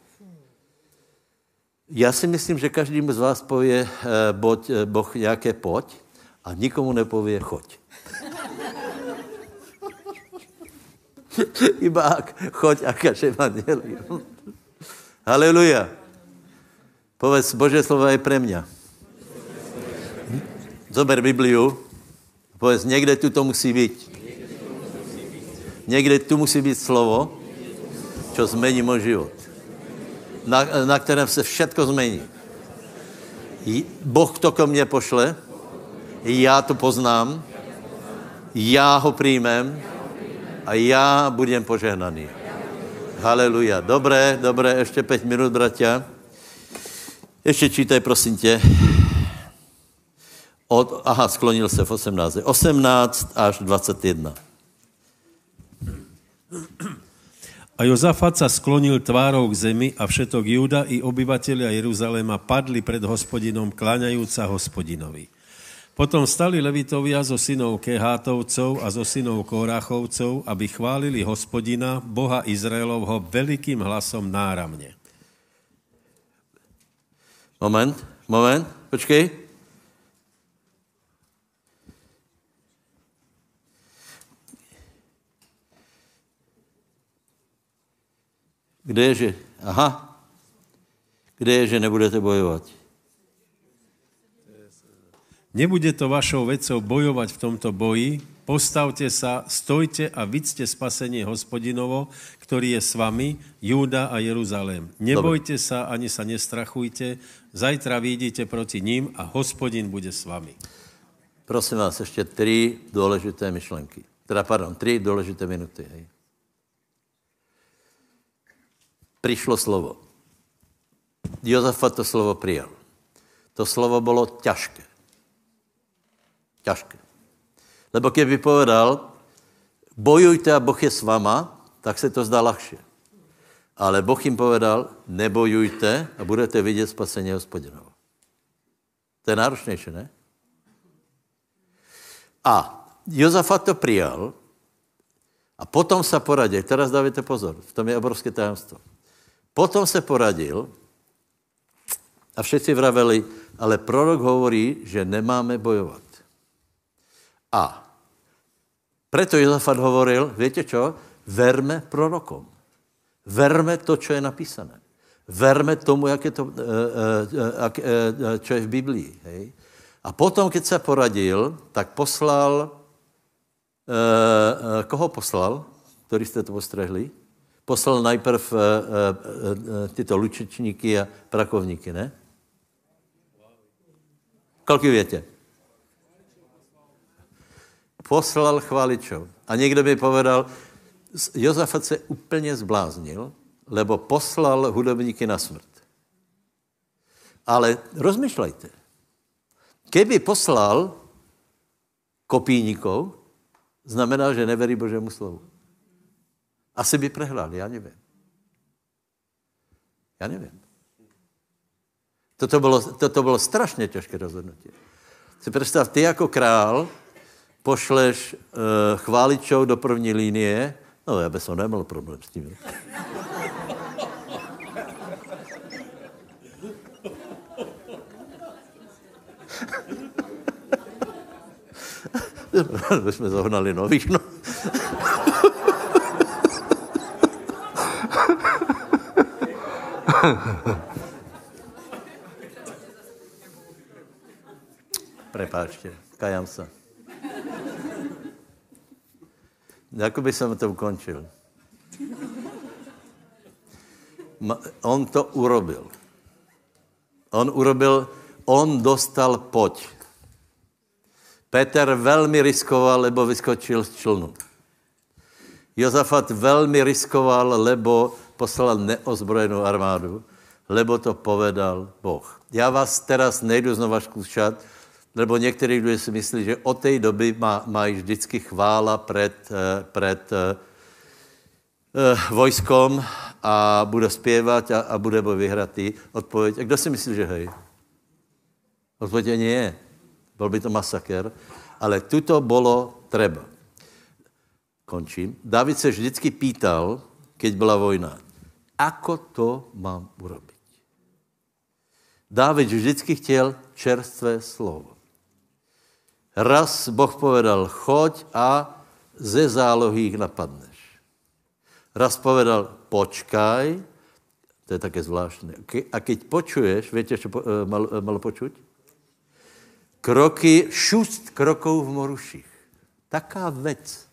Já si myslím, že každému z vás pově boď, Boh nějaké poď a nikomu nepově choď. Iba choď a kaž evangelium. Haleluja. Povedz, Božie slovo je pre mňa. Zober Bibliu. Povedz, někde tu to musí být. Někde tu musí být slovo, čo zmení můj život. Na, na kterém se všetko změní. Boh to ko mně pošle, já to poznám já ho přijmem a já budem požehnaný. Haleluja. Dobré, dobré, ještě pět minut, bratia. Ještě čítaj, prosím tě. Od, aha, sklonil se v osmnáct. osmnáct až dvacet jedna. A Jozafat sa sklonil tvárou k zemi a všetok Júda i obyvatelia Jeruzaléma padli pred Hospodinom, kláňajúca Hospodinovi. Potom stali levitovia zo synov Kehátovcov a zo synov Kóráchovcov, aby chválili Hospodina, Boha Izraelovho, veľkým hlasom náramne. Moment, moment, počkej. Kde je, že... Aha. Kde je, že nebudete bojovat? Nebude to vašou vecou bojovať v tomto boji. Postavte sa, stojte a vidzte spasenie Hospodinovo, ktorý je s vami, Júda a Jeruzalém. Nebojte Dobre. sa, ani sa nestrachujte. Zajtra vyjdete proti ním a Hospodin bude s vami. Prosím vás, ještě tři důležité myšlenky. Teda, pardon, tři důležité minuty. Hej. Přišlo slovo. Jozafat to slovo přijal. To slovo bylo ťažké. Ťažké. Lebo keby povedal, bojujte a Boh je s vama, tak se to zdá ľahšie. Ale Boh jim povedal, nebojujte a budete vidět spasení Hospodinovo. To je náročnější, ne? A Jozafat to přijal a potom se poradil. Teraz dávajte pozor, v tom je obrovské tajemstvo. Potom se poradil a všetci vraveli, ale prorok hovorí, že nemáme bojovat. A preto Jozafat hovoril, viete čo? Verme prorokom. Verme to, čo je napísané. Verme tomu, jak je to, čo je v Biblii. Hej? A potom, keď se poradil, tak poslal, koho poslal, který jste to postrehli? Poslal najprv uh, uh, uh, tyto lučečníky a prakovníky, ne? Kolik větě? Poslal chváličov. A někdo by povedal, Jozafat se úplně zbláznil, lebo poslal hudobníky na smrt. Ale rozmýšlejte. Keby poslal kopíníkov, znamená, že neverí Božému slovu. Asi by prehrál, já nevím. Já nevím. Toto bylo, toto bylo strašně těžké rozhodnutí. Si představ, ty jako král pošleš uh, chváličov do první linie, no já bych neměl problém s tím. My jsme zohnali nových, no. Prepáčte, kajám se. Jakoby jsem to ukončil. On to urobil. On urobil, on dostal poď. Peter velmi riskoval, lebo vyskočil z člnu. Jozafat velmi riskoval, lebo poslal neozbrojenou armádu, lebo to povedal Boh. Já vás teraz nejdu znova zkoušet, lebo některý lidé si myslí, že od té doby má, mají vždycky chvála před, před uh, vojskom a bude zpěvat a, a bude boj vyhratý. Odpověď, a kdo si myslí, že hej? Odpověď nie. Byl by to masaker, ale tuto bylo treba. Končím. David se vždycky pýtal, keď byla vojna, ako to mám urobiť? David vždycky chtěl čerstvé slovo. Raz Boh povedal, choď a ze zálohy ich napadneš. Raz povedal, počkaj, to je také zvláštne. A keď počuješ, viete, čo malo, malo počuť? Kroky, šust krokov v moruších. Taká vec.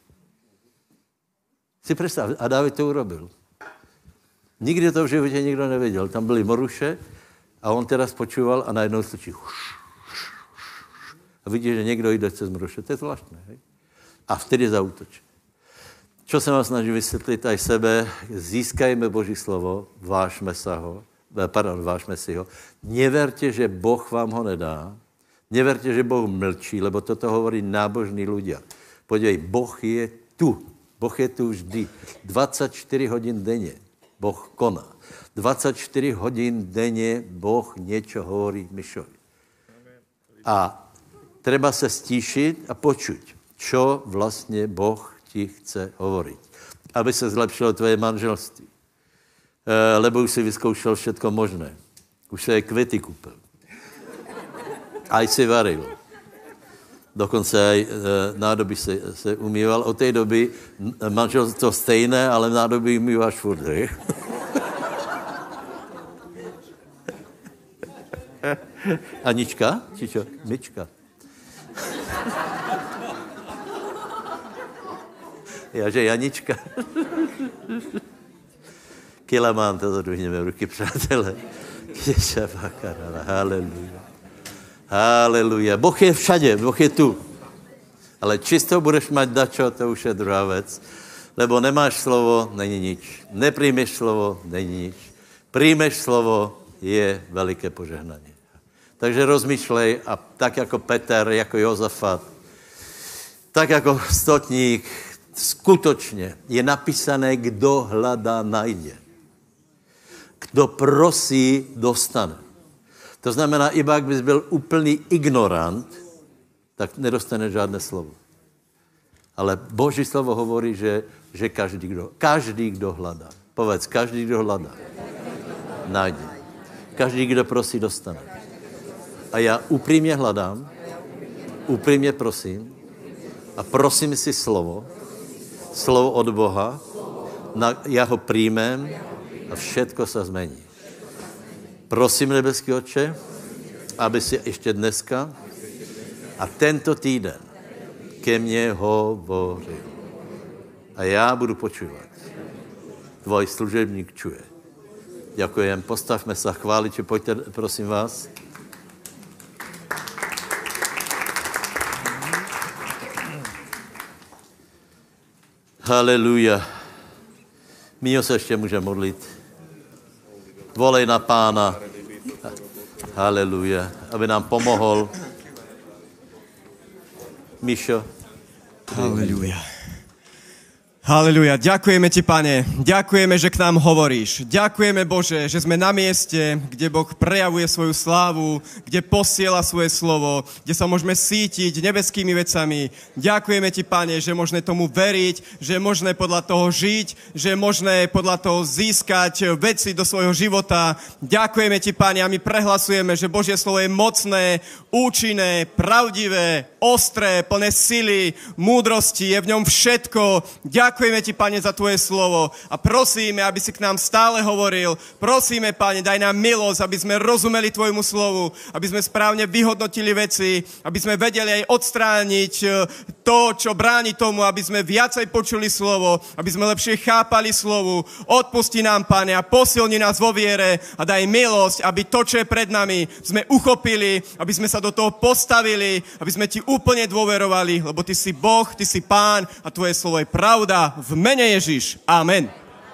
Si představ, a David to urobil. Nikdy to v životě nikdo nevěděl. Tam byly moruše a on teraz počúval a najednou slyší a vidí, že někdo jde cez moruše. To je zvláštné. Hej? A vtedy zaútočí. Čo sa vám snažím vysvětlit aj sebe, získajme Boží slovo, vážme sa ho, pardon, vážme si ho. Neverte, že Boh vám ho nedá. Neverte, že Boh mlčí, lebo toto hovorí nábožní ľudia. Podívej, Boh je tu. Boh je tu vždy. dvadsaťštyri hodín denne Boh koná. dvadsaťštyri hodín denne Boh niečo hovorí Mišovi. A treba sa stíšiť a počuť, čo vlastne Boh ti chce hovoriť. Aby sa zlepšilo tvoje manželství. E, lebo už si vyskoušel všetko možné. Už sa aj kvety kúpil. Aj si varil. Dokonce aj e, nádoby se, se umýval. Od tej doby manželstvo stejné, ale nádoby umýváš furt. Anička? Či čo? Myčka. Jaže Janička. Kilamán, to zadvihneme ruky, přátelé. Haleluja. Haleluja. Boh je všade, Boh je tu. Ale čisto budeš mať dačo, to už je druhá vec. Lebo nemáš slovo, není nič. Nepríjmeš slovo, není nič. Príjmeš slovo, je veliké požehnanie. Takže rozmýšlej a tak jako Peter, jako Jozafat, tak jako stotník, skutočne je napísané, kdo hľadá, najde. Kdo prosí, dostane. To znamená, iba ak bys byl úplný ignorant, tak nedostane žádné slovo. Ale Boží slovo hovorí, že, že každý, kdo, každý, kdo hľadá. Povedz, každý, kdo hľadá, najde. Každý, kdo prosí, dostane. A já upřímně hledám, upřímně prosím a prosím si slovo, slovo od Boha, na, já ho príjmem a všetko se zmení. Prosím, nebeský Otče, aby si ještě dneska a tento týden ke mně hovoril. A já budu počúvat. Tvoj služebník čuje. Ďakujem. Postavme sa, chváliče, pojďte, prosím vás. Haleluja. Míňo se ještě může modlit. Volej na Pána. Haleluja. Aby nám pomohol. Míšo. Haleluja. Haleluja. Ďakujeme ti, Pane. Ďakujeme, že k nám hovoríš. Ďakujeme, Bože, že sme na mieste, kde Boh prejavuje svoju slávu, kde posiela svoje slovo, kde sa môžeme sítiť nebeskými vecami. Ďakujeme ti, Pane, že je možné tomu veriť, že je možné podľa toho žiť, že je možné podľa toho získať veci do svojho života. Ďakujeme ti, Pane, a my prehlasujeme, že Božie slovo je mocné, účinné, pravdivé, ostré, plné sily, múdrosti, je v ňom všetko. Ďakujeme ti, Pane, za tvoje slovo a prosíme, aby si k nám stále hovoril. Prosíme, Pane, daj nám milosť, aby sme rozumeli tvojmu slovu, aby sme správne vyhodnotili veci, aby sme vedeli aj odstrániť to, čo bráni tomu, aby sme viacej počuli slovo, aby sme lepšie chápali slovu. Odpusti nám, Pane, a posilni nás vo viere a daj milosť, aby to, čo je pred nami, sme uchopili, aby sme sa do toho postavili, aby sme ti úplne dôverovali, lebo ty si Boh, ty si Pán a tvoje slovo je pravda. V mene Ježiš. Amen.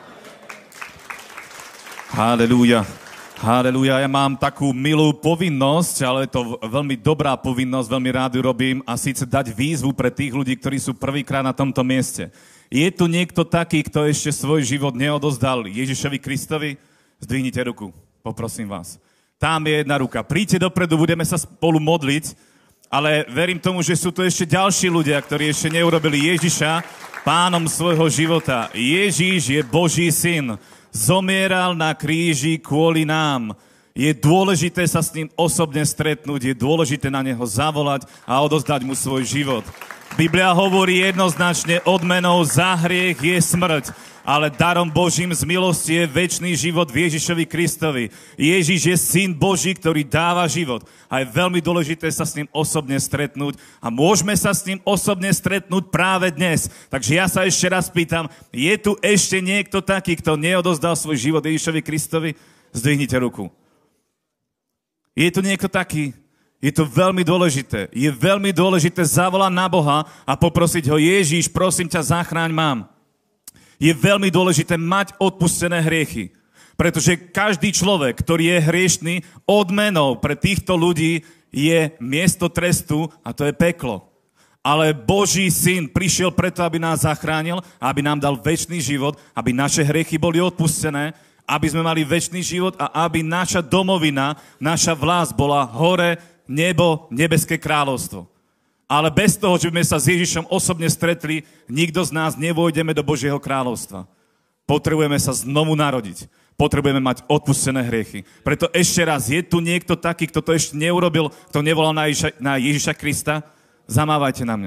Halelúja. Halelúja. Ja mám takú milú povinnosť, ale je to veľmi dobrá povinnosť, veľmi rád ju robím, a síce dať výzvu pre tých ľudí, ktorí sú prvýkrát na tomto mieste. Je tu niekto taký, kto ešte svoj život neodozdal Ježišovi Kristovi? Zdvihnite ruku. Poprosím vás. Tam je jedna ruka. Príďte dopredu, budeme sa spolu modliť, ale verím tomu, že sú tu ešte ďalší ľudia, ktorí ešte neurobili Ježiša pánom svojho života. Ježíš je Boží syn. Zomieral na kríži kvôli nám. Je dôležité sa s ním osobne stretnúť, je dôležité na neho zavolať a odozdať mu svoj život. Biblia hovorí jednoznačne, odmenou za hriech je smrť, ale darom Božím z milosti je večný život v Ježišovi Kristovi. Ježiš je syn Boží, ktorý dáva život. A je veľmi dôležité sa s ním osobne stretnúť. A môžeme sa s ním osobne stretnúť práve dnes. Takže ja sa ešte raz pýtam, je tu ešte niekto taký, kto neodozdal svoj život Ježišovi Kristovi? Zdvihnite ruku. Je tu niekto taký? Je to veľmi dôležité. Je veľmi dôležité zavolať na Boha a poprosiť ho, Ježiš, prosím ťa, zachráň mám. Je veľmi dôležité mať odpustené hriechy. Pretože každý človek, ktorý je hriešný, odmenou pre týchto ľudí je miesto trestu a to je peklo. Ale Boží syn prišiel preto, aby nás zachránil, aby nám dal večný život, aby naše hriechy boli odpustené, aby sme mali večný život a aby naša domovina, naša vlast bola hore, nebo, nebeské kráľovstvo. Ale bez toho, že by sme sa s Ježišom osobne stretli, nikto z nás nevojdeme do Božieho kráľovstva. Potrebujeme sa znovu narodiť. Potrebujeme mať odpustené hriechy. Preto ešte raz, je tu niekto taký, kto to ešte neurobil, kto nevolal na Ježiša, na Ježiša Krista? Zamávajte na mňa.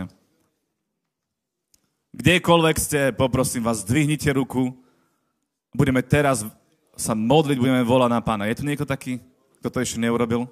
Kdekoľvek ste, poprosím vás, zdvihnite ruku. Budeme teraz sa modliť, budeme volať na Pána. Je tu niekto taký, kto to ešte neurobil?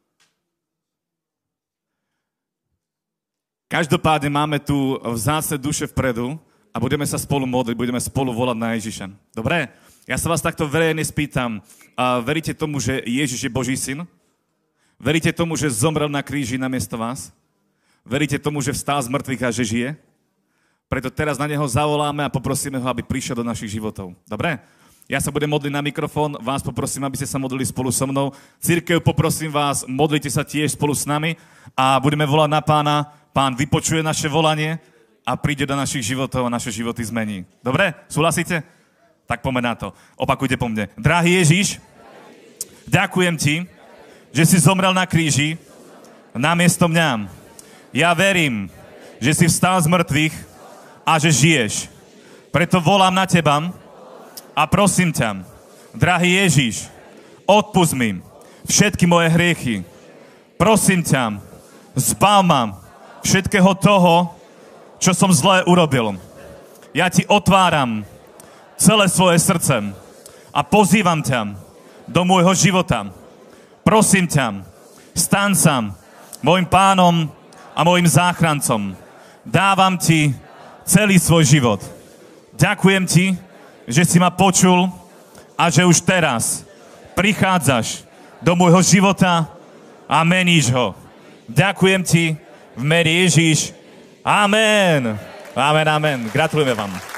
Každopádne máme tu vzácne duše vpredu a budeme sa spolu modliť, budeme spolu volať na Ježiša. Dobre? Ja sa vás takto verejne spýtam. A veríte tomu, že Ježiš je Boží syn? Veríte tomu, že zomrel na kríži namiesto vás? Veríte tomu, že vstal z mŕtvych a že žije? Preto teraz na neho zavoláme a poprosíme ho, aby prišiel do našich životov. Dobre? Ja sa budem modliť na mikrofón, vás poprosím, aby ste sa modlili spolu so mnou. Cirkev, poprosím vás, modlite sa tiež spolu s nami a budeme volať na Pána. Pán vypočuje naše volanie a príde do našich životov a naše životy zmení. Dobre? Súhlasíte? Tak poďme na to. Opakujte po mne. Drahý Ježiš, ďakujem ti, že si zomrel na kríži namiesto mňa. Ja verím, že si vstal z mŕtvych a že žiješ. Preto volám na teba a prosím ťa, drahý Ježiš, odpusť mi všetky moje hriechy. Prosím ťa, zbav ma všetkého toho, čo som zlé urobil. Ja ti otváram celé svoje srdce a pozývam ťa do môjho života. Prosím ťa, staň sa môjim pánom a môjim záchrancom. Dávam ti celý svoj život. Ďakujem ti, že si ma počul a že už teraz prichádzaš do môjho života a meníš ho. Ďakujem ti v mene Ježiš. Amen. Amen, amen. Gratulujeme vám.